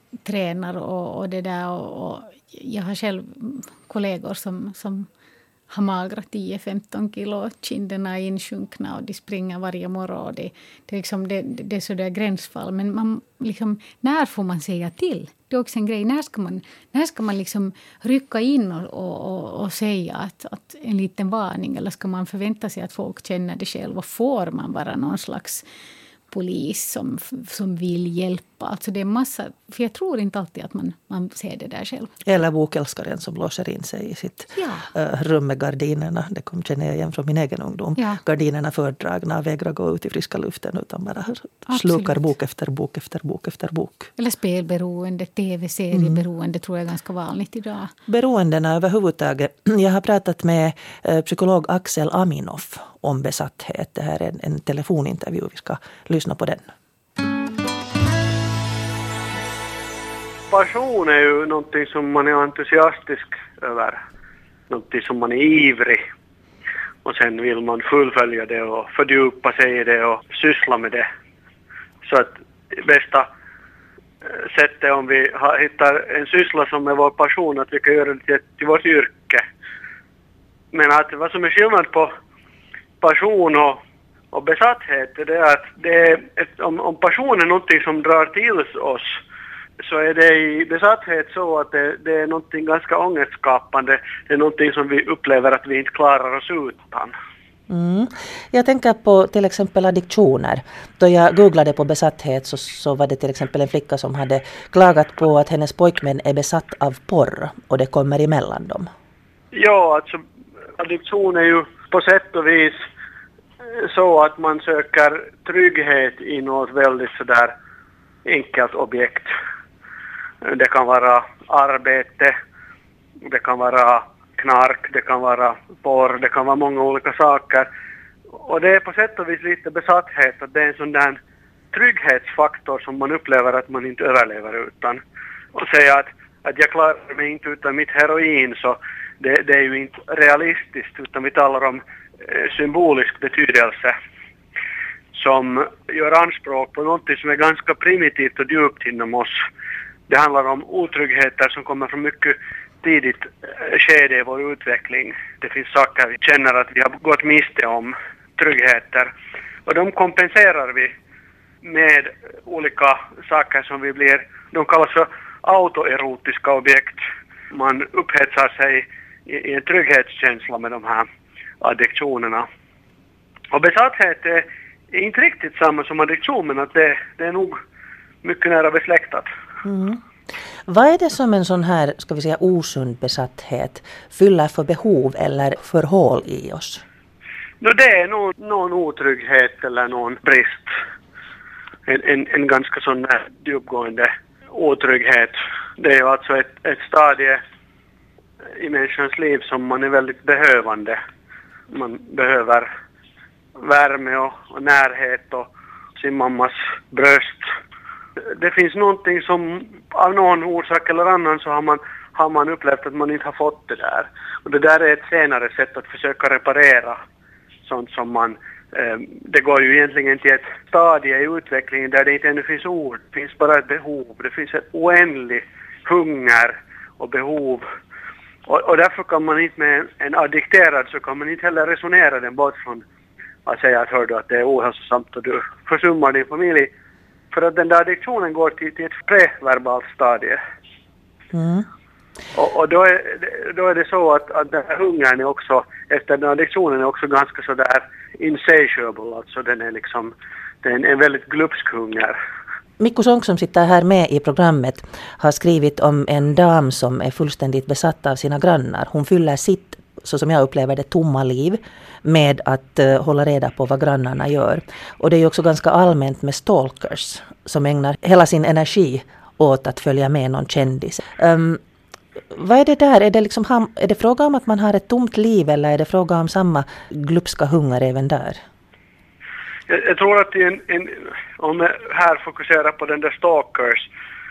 tränar och, och det där och, och jag har själv kollegor som, som har magrat tio femton kilo, kinderna är insjunkna och de springer varje morgon. Det, det, är liksom, det, det är sådär gränsfall. Men man, liksom, när får man säga till? Det är också en grej. När ska man, när ska man liksom rycka in och, och, och, och säga att, att en liten varning? Eller ska man förvänta sig att folk känner det själv? Och får man vara någon slags polis som, som vill hjälpa? Alltså det är massa, för jag tror inte alltid att man, man ser det där själv. Eller bokälskaren som låser in sig i sitt ja. uh, rum med gardinerna. Det kom känner jag igen från min egen ungdom. Ja. Gardinerna fördragna, vägrar gå ut i friska luften utan bara slukar bok efter bok efter bok efter bok. Eller spelberoende, tv-serieberoende mm. tror jag är ganska vanligt idag. Beroendena överhuvudtaget. Jag har pratat med uh, psykolog Axel Aminoff om besatthet. Det här är en, en telefonintervju. Vi ska lyssna på den. Passion är ju någonting som man är entusiastisk över. Någonting som man är ivrig. Och sen vill man fullfölja det och fördjupa sig i det och syssla med det. Så att bästa sättet om vi hittar en syssla som är vår passion, att vi kan göra det till vårt yrke. Men att vad som är skillnad på passion och, och besatthet är det att det är ett, om, om passion är någonting som drar till oss, så är det i besatthet så att det, det är någonting ganska ångestskapande. Det är någonting som vi upplever att vi inte klarar oss utan. Mm. Jag tänker på till exempel addiktioner. Då jag googlade på besatthet så, så var det till exempel en flicka som hade klagat på att hennes pojkvän är besatt av porr och det kommer emellan dem. Ja, alltså addiktion är ju på sätt och vis så att man söker trygghet i något väldigt sådär enkelt objekt. Det kan vara arbete, det kan vara knark, det kan vara porr, det kan vara många olika saker. Och det är på sätt och vis lite besatthet, att det är en sån där trygghetsfaktor som man upplever att man inte överlever utan. Och säga att, att jag klarar mig inte utan mitt heroin, så det, det är ju inte realistiskt, utan vi talar om eh, symbolisk betydelse som gör anspråk på något som är ganska primitivt och djupt inom oss. Det handlar om otryggheter som kommer från mycket tidigt skede i vår utveckling. Det finns saker vi känner att vi har gått miste om, tryggheter. Och de kompenserar vi med olika saker som vi blir, de kallas för autoerotiska objekt. Man upphetsar sig i en trygghetskänsla med de här addiktionerna. Och besatthet är inte riktigt samma som addiktion, men att det, det är nog mycket nära besläktat. Mm. Vad är det som en sån här, ska vi säga, osund besatthet fyller för behov eller för hål i oss? No, det är någon, någon otrygghet eller någon brist. En, en, en ganska sån här djupgående otrygghet. Det är ju alltså ett, ett stadie i människans liv som man är väldigt behövande. Man behöver värme och, och närhet och sin mammas bröst. Det finns någonting som av någon orsak eller annan så har man, har man upplevt att man inte har fått det där. Och det där är ett senare sätt att försöka reparera sånt som man... Eh, det går ju egentligen till ett stadie i utvecklingen där det inte ännu finns ord. Det finns bara ett behov. Det finns ett oändligt hunger och behov. Och, och därför kan man inte med en addikterad så kan man inte heller resonera den bort från att säga att hör du att det är ohälsosamt och du försummar din familj. För att den där addiktionen går till, till ett preverbalt stadie. Mm. Och, och då, är, då är det så att, att den här hungern är också, efter den addiktionen är också ganska sådär insatiable. Alltså den är liksom, den är en väldigt glupsk hunger. Mikko Sonck som sitter här med i programmet har skrivit om en dam som är fullständigt besatt av sina grannar. Hon fyller sitt, så som jag upplever det, tomma liv med att uh, hålla reda på vad grannarna gör. Och det är ju också ganska allmänt med stalkers som ägnar hela sin energi åt att följa med någon kändis. Um, vad är det där? Är det, liksom, är det fråga om att man har ett tomt liv eller är det fråga om samma glupska hunger även där? Jag, jag tror att en, en, om jag här fokuserar på den där stalkers,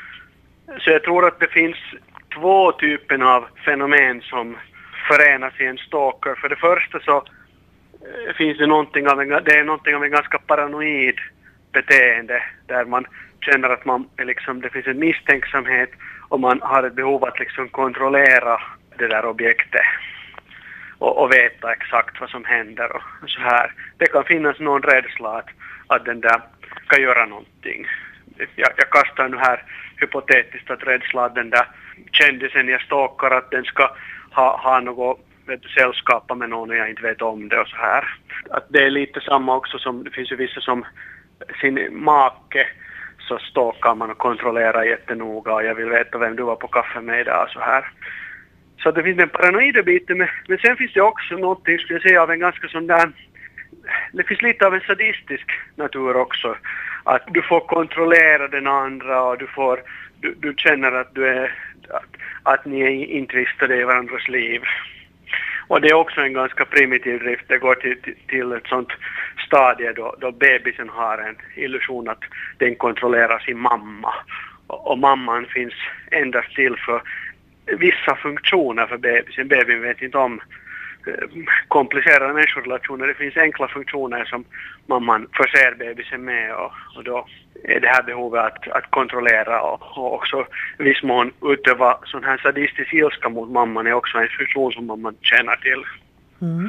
så jag tror att det finns två typer av fenomen som förenas i en stalker. För det första så finns det någonting av en, det är någonting av en ganska paranoid beteende där man känner att man är liksom, det finns en misstänksamhet och man har ett behov att liksom kontrollera det där objektet. och, och veta exakt vad som händer och så här. Det kan finnas någon rädsla att, att den där ska göra någonting. Jag, jag kastar nu här hypotetiskt att rädsla att den där kändisen jag stalkar att den ska ha, ha något vet du, sällskapa med någon och jag inte vet om det och så här. Att det är lite samma också som det finns ju vissa som sin make så stalkar man och kontrollerar jättenoga och jag vill veta vem du var på kaffe med idag och så här. Så det finns en paranoida biten men, men sen finns det också någonting skulle jag säga av en ganska sån där det finns lite av en sadistisk natur också. Att du får kontrollera den andra och du får du, du känner att du är att, att ni är intvistade i varandras liv. Och det är också en ganska primitiv drift. Det går till, till, till ett sånt stadie då, då bebisen har en illusion att den kontrollerar sin mamma. Och, och mamman finns endast till för vissa funktioner för bebisen. Bebisen vet inte om komplicerade människorelationer. Det finns enkla funktioner som mamman förser bebisen med och, och då är det här behovet att, att kontrollera och, och också viss mån utöva sån här sadistisk ilska mot mamman är också en funktion som mamman känner till. Mm.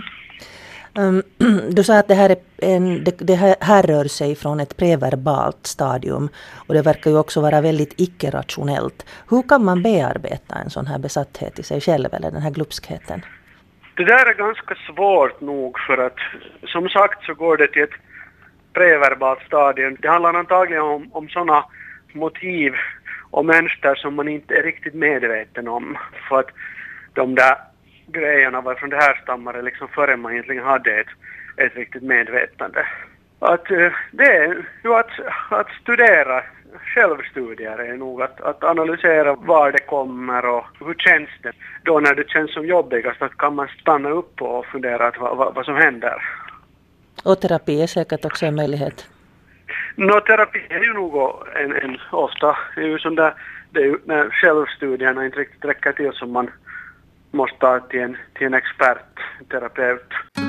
Um, du sa att det här, är en, det, det här rör sig från ett preverbalt stadium och det verkar ju också vara väldigt icke-rationellt. Hur kan man bearbeta en sån här besatthet i sig själv eller den här glupskheten? Det där är ganska svårt nog för att som sagt så går det till ett preverbalt stadium. Det handlar antagligen om, om sådana motiv och mönster som man inte är riktigt medveten om. För att de där grejerna varifrån det här stammar är liksom före man egentligen hade ett, ett riktigt medvetande. Att det är ju att, att studera, självstudier är nog att, att analysera var det kommer och hur känns det. Då när det känns som jobbigast att kan man stanna upp och fundera att vad, vad, vad som händer. Och terapi är säkert också en möjlighet. Nå, terapi är ju nog en, en ofta, det är ju sån där, det är ju när självstudierna inte riktigt räcker till som man måste ta till en, till en expert, en terapeut.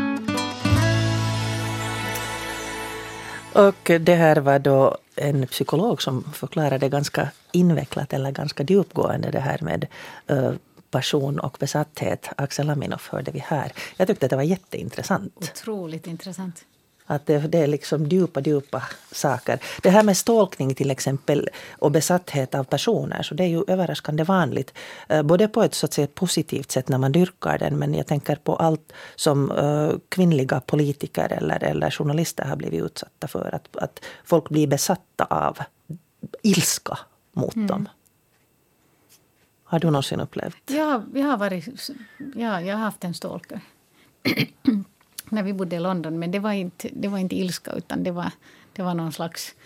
Och det här var då en psykolog som förklarade ganska invecklat eller ganska djupgående det här med uh, passion och besatthet. Axel Aminoff hörde vi här. Jag tyckte att det var jätteintressant. Otroligt intressant. Att det, det är liksom djupa, djupa saker. Det här med stalkning till exempel och besatthet av personer så det är ju överraskande vanligt. Eh, både på ett så att säga positivt sätt när man dyrkar den men jag tänker på allt som eh, kvinnliga politiker eller, eller journalister har blivit utsatta för. Att, att folk blir besatta av ilska mot mm. dem. Har du någonsin upplevt? Ja, jag har varit, ja, jag har haft en stalker. När vi bodde i London, men det var inte, det var inte ilska utan det var, det var någon slags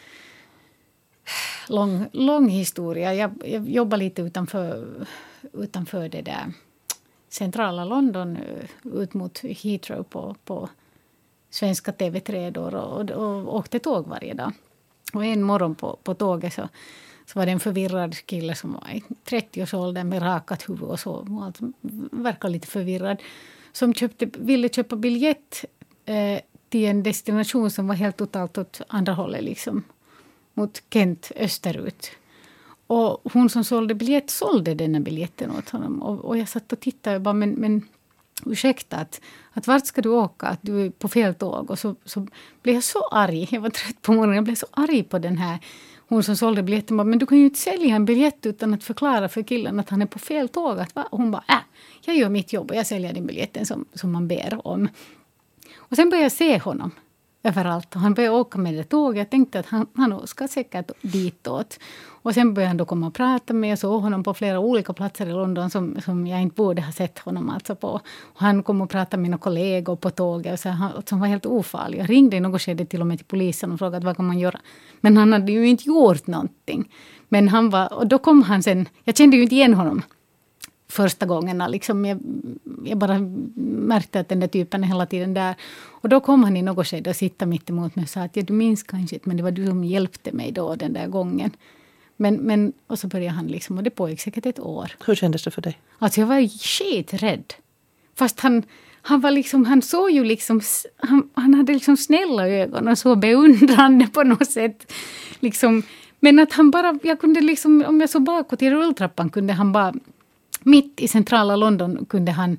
lång, lång historia. Jag, jag jobbade lite utanför, utanför det där centrala London ut mot Heathrow på, på svenska T V tre då, och, och åkte tåg varje dag. Och en morgon på, på tåget så, så var det en förvirrad kille som var i trettioårsåldern med rakat huvud och så. Och alltså, verkar lite förvirrad. Som köpte, ville köpa biljett eh, till en destination som var helt totalt åt andra hållet. Liksom, mot Kent österut. Och hon som sålde biljett sålde denna biljetten åt honom. Och, och jag satt och tittade och bara, men, men ursäkta, att, att vart ska du åka? Att du är på fel tåg. Och så, så blev jag så arg. Jag var trött på morgonen. Jag blev så arg på den här. Hon som sålde biljetten bara, men du kan ju inte sälja en biljett utan att förklara för killen att han är på fel tåg. Att, va? Och hon bara, äh, jag gör mitt jobb och jag säljer den biljetten som, som man ber om. Och sen började jag se honom överallt. Och han började åka med det tåget. Jag tänkte att han, han ska säkert ditåt. Och sen började han då komma och prata med. Jag såg honom på flera olika platser i London som, som jag inte borde ha sett honom alltså på. Och han kom och pratade med mina kollegor på tåget. Och så, han, som var helt ofarlig. Jag ringde i något skede till och med till polisen och frågade vad kan man göra. Men han hade ju inte gjort någonting. Men han var, och då kom han sen, jag kände ju inte igen honom första gångerna. Liksom jag, jag bara märkte att den där typen är hela tiden där. Och då kom han i något skede och sitta mitt emot mig och sa att ja, du minns kanske inte, men det var du som hjälpte mig då den där gången. Men, men, och så började han liksom, och det pågick säkert ett år. Hur kändes det för dig? Alltså jag var skiträdd. Fast han, han var liksom, han såg ju liksom, han, han hade liksom snälla ögon och så beundrande på något sätt. Liksom, men att han bara, jag kunde liksom, om jag såg bakåt i rulltrappan kunde han bara, mitt i centrala London kunde han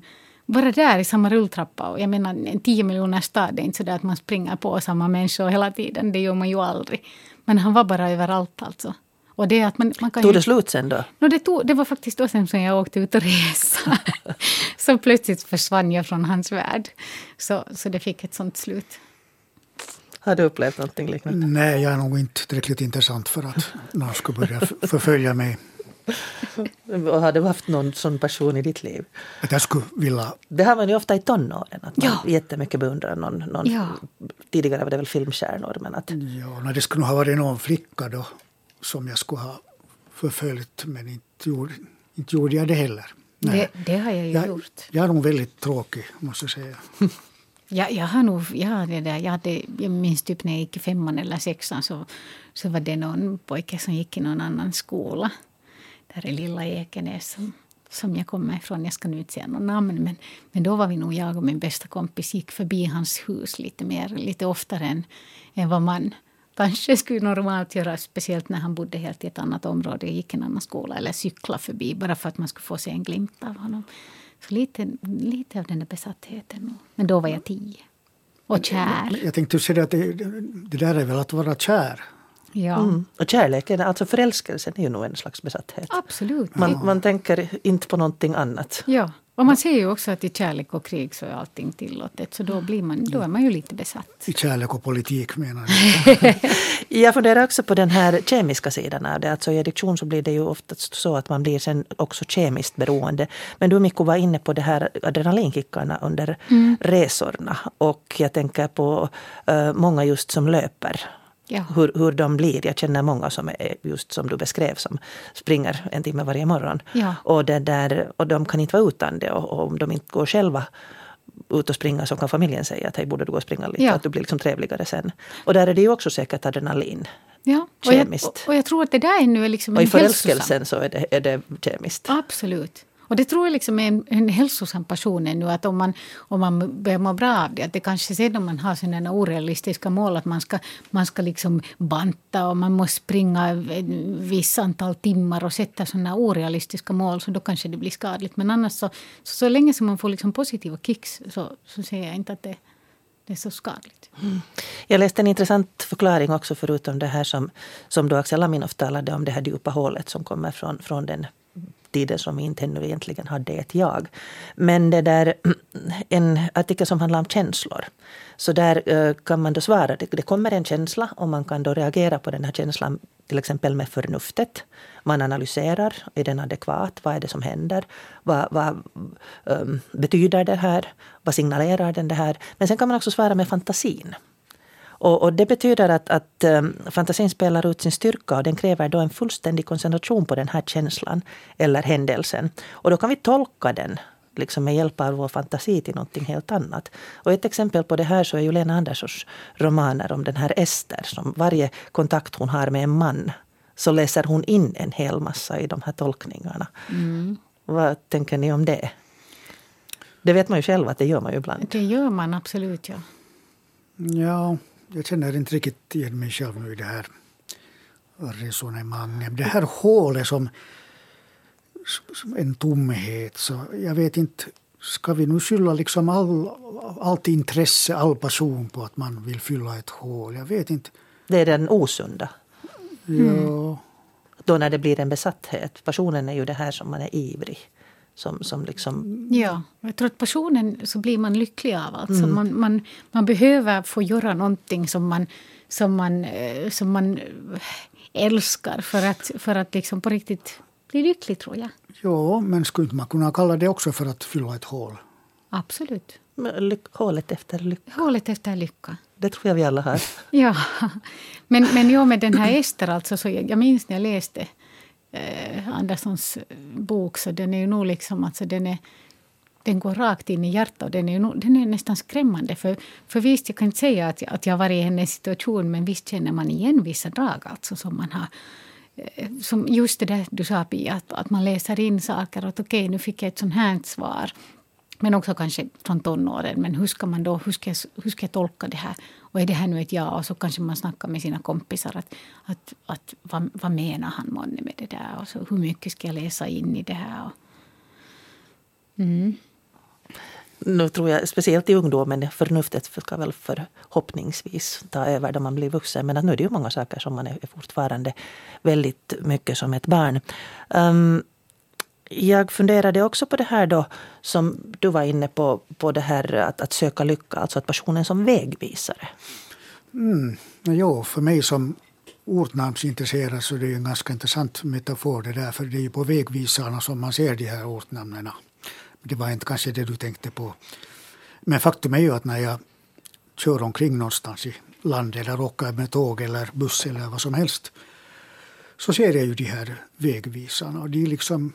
vara där i samma rulltrappa. Och jag menar, en tio miljoner stad är inte så där att man springer på samma människor hela tiden. Det gör man ju aldrig. Men han var bara överallt alltså. Och det att man, man kan tog ju, det slut sen då? No, det, tog, det var faktiskt då sen som jag åkte ut och resa. Så plötsligt försvann jag från hans värld. Så, så det fick ett sånt slut. Har du upplevt någonting liknande? Nej, jag är nog inte tillräckligt intressant för att någon ska börja förfölja mig. Och har du haft någon sån person i ditt liv? Att jag skulle vilja... Det har man ju ofta i tonåren. Att man Ja. jättemycket beundrar någon. någon Ja. Tidigare var det väl filmstjärnor. Men att, Ja, när det skulle nog ha varit någon flicka då som jag skulle ha förföljt, men inte gjorde, inte gjorde jag det heller. Det, det har jag ju jag, gjort. jag är nog väldigt tråkig, måste jag säga. Ja, jag har nog, ja, det där, jag, hade, jag minns typ när jag gick i femman eller sexan så, så var det någon pojke som gick i någon annan skola. Där är lilla Ekenäs som, som jag kommer ifrån. Jag ska nu inte säga någon namn, men, men då var vi nog, jag och min bästa kompis gick förbi hans hus lite mer, lite oftare än, än vad man kanske skulle normalt göra, speciellt när han bodde helt i ett annat område, gick i en annan skola eller cykla förbi bara för att man skulle få se en glimt av honom. Så lite, lite av den där besattheten. Men då var jag tio. Och kär. Jag tänkte säga att det, det där är väl att vara kär. Ja, mm. Och kärleken, alltså förälskelsen är ju nog en slags besatthet. absolut. Man, man tänker inte på någonting annat. Ja, och man ser ju också att i kärlek och krig så är allting tillåtet. Så då, blir man, då är man ju lite besatt. I kärlek och politik menar jag. Jag funderar också på den här kemiska sidan av det. Alltså i addiktion så blir det ju ofta så att man blir sen också kemiskt beroende. Men du Mikko var inne på det här adrenalinkickarna under mm. resorna. Och jag tänker på uh, många just som löper. Ja. Hur, hur de blir. Jag känner många som är just som du beskrev som springer en timme varje morgon. Ja. Och, det där, och de kan inte vara utan det. Och, och om de inte går själva ut och springa så kan familjen säga att hej, borde du gå och springa lite. Ja. Att du blir liksom trevligare sen. Och där är det ju också säkert adrenalin. Ja, och jag, kemiskt. och, och jag tror att det där nu är liksom Och i en hälsosam. förälskelsen så är det, är det kemiskt. Absolut. Och det tror jag liksom är en, en hälsosam person nu, att om man, om man börjar må bra av det, att det kanske sedan om man har sådana orealistiska mål att man ska, man ska liksom banta och man måste springa en viss antal timmar och sätta sådana orealistiska mål, så då kanske det blir skadligt. Men annars så, så, så länge som man får liksom positiva kicks så, så ser jag inte att det, det är så skadligt. Mm. Jag läste en intressant förklaring också förutom det här som, som då Axel Laminov talade om, det här djupa hålet som kommer från, från den tiden som vi inte ännu egentligen hade ett jag. Men det där, en artikel som handlar om känslor. Så där kan man då svara, det, det kommer en känsla och man kan då reagera på den här känslan till exempel med förnuftet. Man analyserar, är den adekvat? Vad är det som händer? Vad, vad um, betyder det här? Vad signalerar den det här? Men sen kan man också svara med fantasin. Och, och det betyder att, att um, fantasin spelar ut sin styrka och den kräver då en fullständig koncentration på den här känslan eller händelsen. Och då kan vi tolka den liksom med hjälp av vår fantasi till någonting helt annat. Och ett exempel på det här så är ju Lena Anderssons romaner om den här Ester, som varje kontakt hon har med en man så läser hon in en hel massa i de här tolkningarna. Mm. Vad tänker ni om det? Det vet man ju själv att det gör man ju ibland. Det gör man absolut, ja. Ja, jag känner inte riktigt igen mig själv nu i det här resonemanget. Det här hålet som, som en tomhet, så jag vet inte, ska vi nu skylla liksom all, allt intresse, all passion på att man vill fylla ett hål? Jag vet inte. Det är den osunda. Mm. Ja. Då när det blir en besatthet. Passionen är ju det här som man är ivrig. Som, som liksom... Ja, jag tror att passionen så blir man lycklig av. Alltså mm. man, man, man behöver få göra någonting som man, som man, som man älskar för att, för att liksom på riktigt bli lycklig, tror jag. Ja, men skulle man kunna kalla det också för att fylla ett hål? Absolut. Lyck, hålet efter lycka. Hålet efter lycka. Det tror jag vi alla har. Ja, men, men jag med den här Ester, alltså, så jag, jag minns när jag läste eh, Anderssons bok, så den är ju nog liksom, alltså den är, den går rakt in i hjärtat och den är, ju nog, den är nästan skrämmande. För, för visst, jag kan inte säga att jag, att jag var i hennes situation, men visst känner man igen vissa drag alltså som man har. Som just det där du sa, Pia, att, att man läser in saker och att okej, nu fick jag ett sånt här svar. Men också kanske från tonåren. Men hur ska man då, hur ska, jag, hur ska jag tolka det här? Och är det här nu ett ja? Och så kanske man snackar med sina kompisar. Att, att, att, vad, vad menar han månne med det där? Och så, hur mycket ska jag läsa in i det här? Och, mm. nu tror jag speciellt i ungdomen, förnuftet ska väl förhoppningsvis ta över då man blir vuxen. Men att nu är det ju många saker som man är fortfarande väldigt mycket som ett barn. Um, jag funderade också på det här då som du var inne på, på det här att, att söka lycka, alltså att passionen som vägvisare. Mm, jo, för mig som ortnamnsintresserad så är det en ganska intressant metafor det där, för det är ju på vägvisarna som man ser de här ortnamnen. Det var inte kanske det du tänkte på. Men faktum är ju att när jag kör omkring någonstans i landet eller åker med tåg eller buss eller vad som helst, så ser jag ju de här vägvisarna. Och de liksom,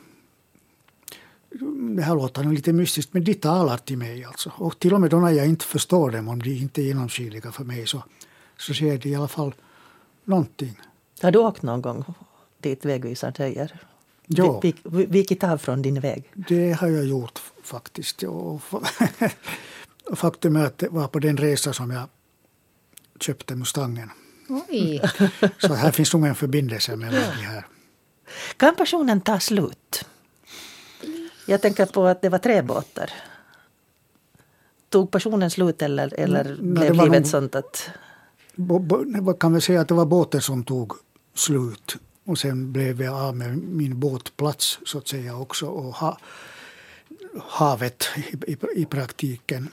det här låter lite mystiskt, men de talar till mig alltså. Och till och med då när jag inte förstår dem, om de inte är genomskinliga för mig, så, så ser de i alla fall någonting. Har du åkt någon gång dit vägvisaren säger? Ja. Vilket av från din väg? Det har jag gjort faktiskt. Och faktum är att det var på den resa som jag köpte Mustangen. Oj. Så här finns nog en förbindelse mellan de här. Kan passionen ta slut? Jag tänker på att det var tre båtar. Tog passionen slut eller, eller Nej, blev livet nog, sånt sånt att... Bo, bo, kan vi säga att det var båten som tog slut. Och sen blev jag av med min båtplats så att säga också. Och ha, havet i, i, i praktiken.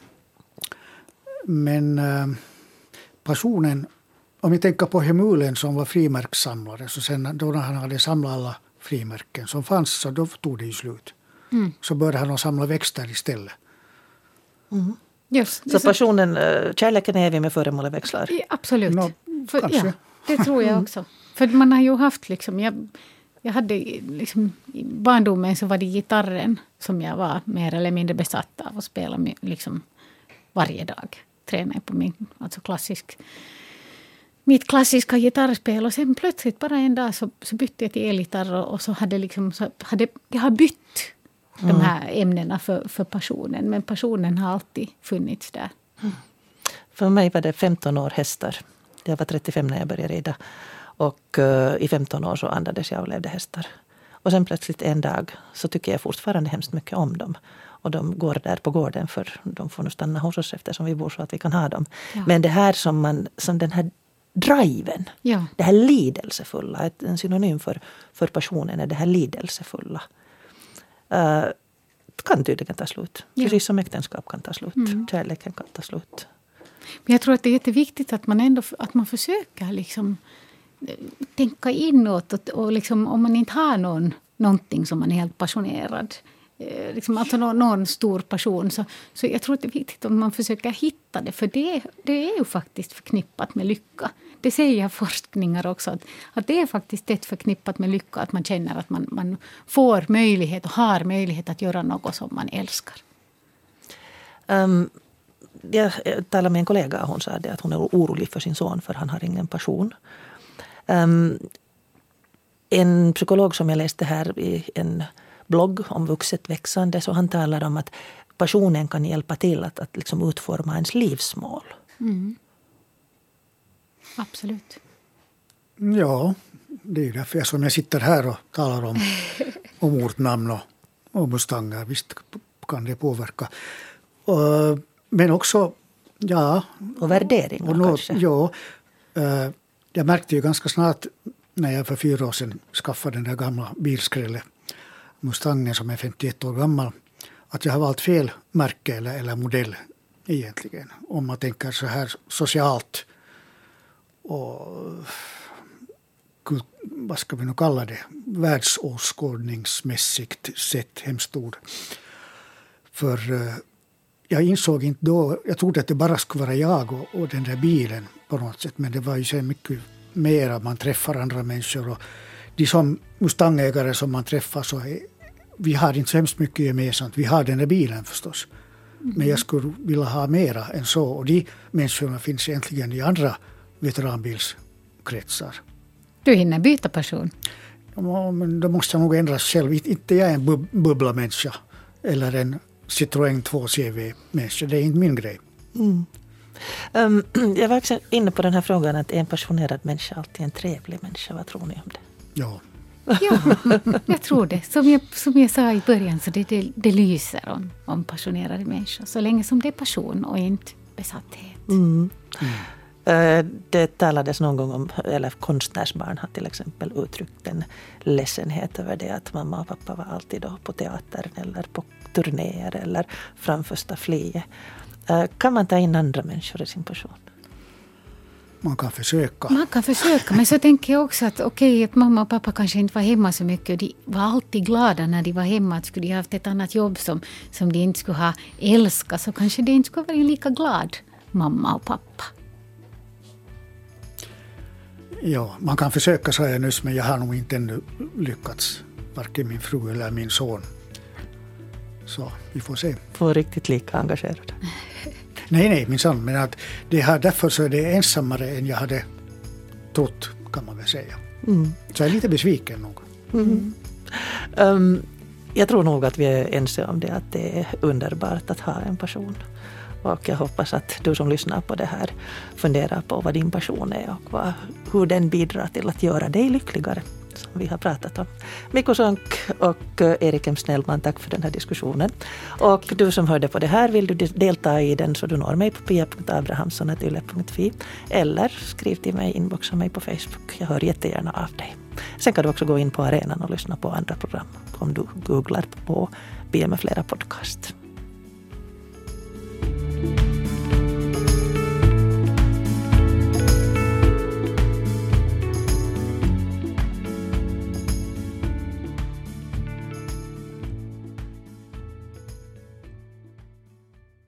Men äh, passionen, om vi tänker på Hemulen som var frimärkssamlare. Så sen då när han hade samlat alla frimärken som fanns, så då tog det ju slut. Mm. Så började han samla växter istället. Mm. Just, så passionen, kärleken är evig med föremål och växlar? Ja, absolut. No, För, ja, det tror jag också. För man har ju haft liksom, jag, jag hade liksom, i barndomen så var det gitarren som jag var mer eller mindre besatt av och spela med, liksom varje dag. Tränade på min, alltså klassisk, mitt klassiska gitarrspel, och sen plötsligt bara en dag så, så bytte jag till elgitarr och, och så hade liksom, så hade, jag har bytt mm. de här ämnena för, för passionen, men passionen har alltid funnits där. Mm. För mig var det femton år hästar. Jag var trettiofem när jag började rida. Och uh, i femton år så andades jag och levde hästar. Och sen plötsligt en dag så tycker jag fortfarande hemskt mycket om dem. Och de går där på gården, för de får nu stanna hos oss eftersom vi bor så att vi kan ha dem. Ja. Men det här som, man, som den här driven, ja. Det här lidelsefulla, en synonym för, för passionen är det här lidelsefulla. Uh, kan tydligen ta slut. Ja. Precis som äktenskap kan ta slut. Mm. Kärleken kan ta slut. Men jag tror att det är jätteviktigt att man ändå att man försöker liksom tänka inåt och, och liksom, om man inte har någon, någonting som man är helt passionerad, eh, liksom, alltså någon, någon stor passion, så, så jag tror att det är viktigt att man försöker hitta det, för det, det är ju faktiskt förknippat med lycka. Det säger forskningar också, att, att det är faktiskt ett förknippat med lycka, att man känner att man, man får möjlighet och har möjlighet att göra något som man älskar. Um. Jag talade med en kollega och hon sa det att hon är orolig för sin son för han har ingen passion. Um, en psykolog som jag läste här i en blogg om vuxet växande, så han talar om att passionen kan hjälpa till att, att liksom utforma ens livsmål. Mm. Absolut. Ja, det är därför jag, som jag sitter här och talar om, om ortnamn och, och mustanger. Visst kan det påverka. Och, men också, ja... Och värderingar och något, kanske. Ja, äh, jag märkte ju ganska snart när jag för fyra år sedan skaffade den där gamla bilskrället Mustangen som är femtioett år gammal, att jag har valt fel märke eller, eller modell egentligen. Om man tänker så här socialt och vad ska vi nu kalla det, världsåskådningsmässigt sett, hemskt ord. För äh, jag insåg inte då, jag trodde att det bara skulle vara jag och, och den där bilen på något sätt, men det var ju så mycket mer att man träffar andra människor, och de som mustangägare som man träffar, så är, vi har inte så hemskt mycket gemensamt. Vi har den där bilen förstås, mm. men jag skulle vilja ha mera än så, och de människorna finns egentligen i andra veteranbilskretsar. Du hinner byta person? Ja, men då måste jag nog ändras själv. Inte jag är en bub- bubbla-människa eller en Citroën två C V-människa. Det är inte min grej. Mm. Um, jag var också inne på den här frågan att är en passionerad människa alltid en trevlig människa. Vad tror ni om det? Ja, Ja, jag tror det. Som jag, som jag sa i början så det, det, det lyser om, om passionerade människor. Så länge som det är passion och inte besatthet. Mm. Mm. Det talades någon gång om, eller konstnärsbarn har till exempel uttryckt en ledsenhet över det att mamma och pappa var alltid då på teatern eller på turnéer eller framför staffliet. Kan man ta in andra människor i sin passion? Man kan försöka. Man kan försöka, men så tänker jag också att okej, okay, att mamma och pappa kanske inte var hemma så mycket och de var alltid glada när de var hemma. Att skulle de ha haft ett annat jobb som, som de inte skulle ha älskat så kanske de inte skulle vara lika glad, mamma och pappa. Ja, man kan försöka, sa jag nyss, men jag har nog inte ännu lyckats, varken min fru eller min son. Så vi får se. Får riktigt lika engagerad. Nej, nej, min son, men att det här, därför så är det ensammare än jag hade trott, kan man väl säga. Mm. Så jag är lite besviken nog. Mm. Um, jag tror nog att vi är ense om det, att det är underbart att ha en passion. Och jag hoppas att du som lyssnar på det här funderar på vad din passion är och vad, hur den bidrar till att göra dig lyckligare, som vi har pratat om. Mikko Sonck och Erik M. Snellman, tack för den här diskussionen. Och du som hörde på det här, vill du delta i den så du når mig på pia punkt abrahamsson snabel-a yle punkt fi eller skriv till mig, inboxa mig på Facebook. Jag hör jättegärna av dig. Sen kan du också gå in på arenan och lyssna på andra program om du googlar på B M flera podcast.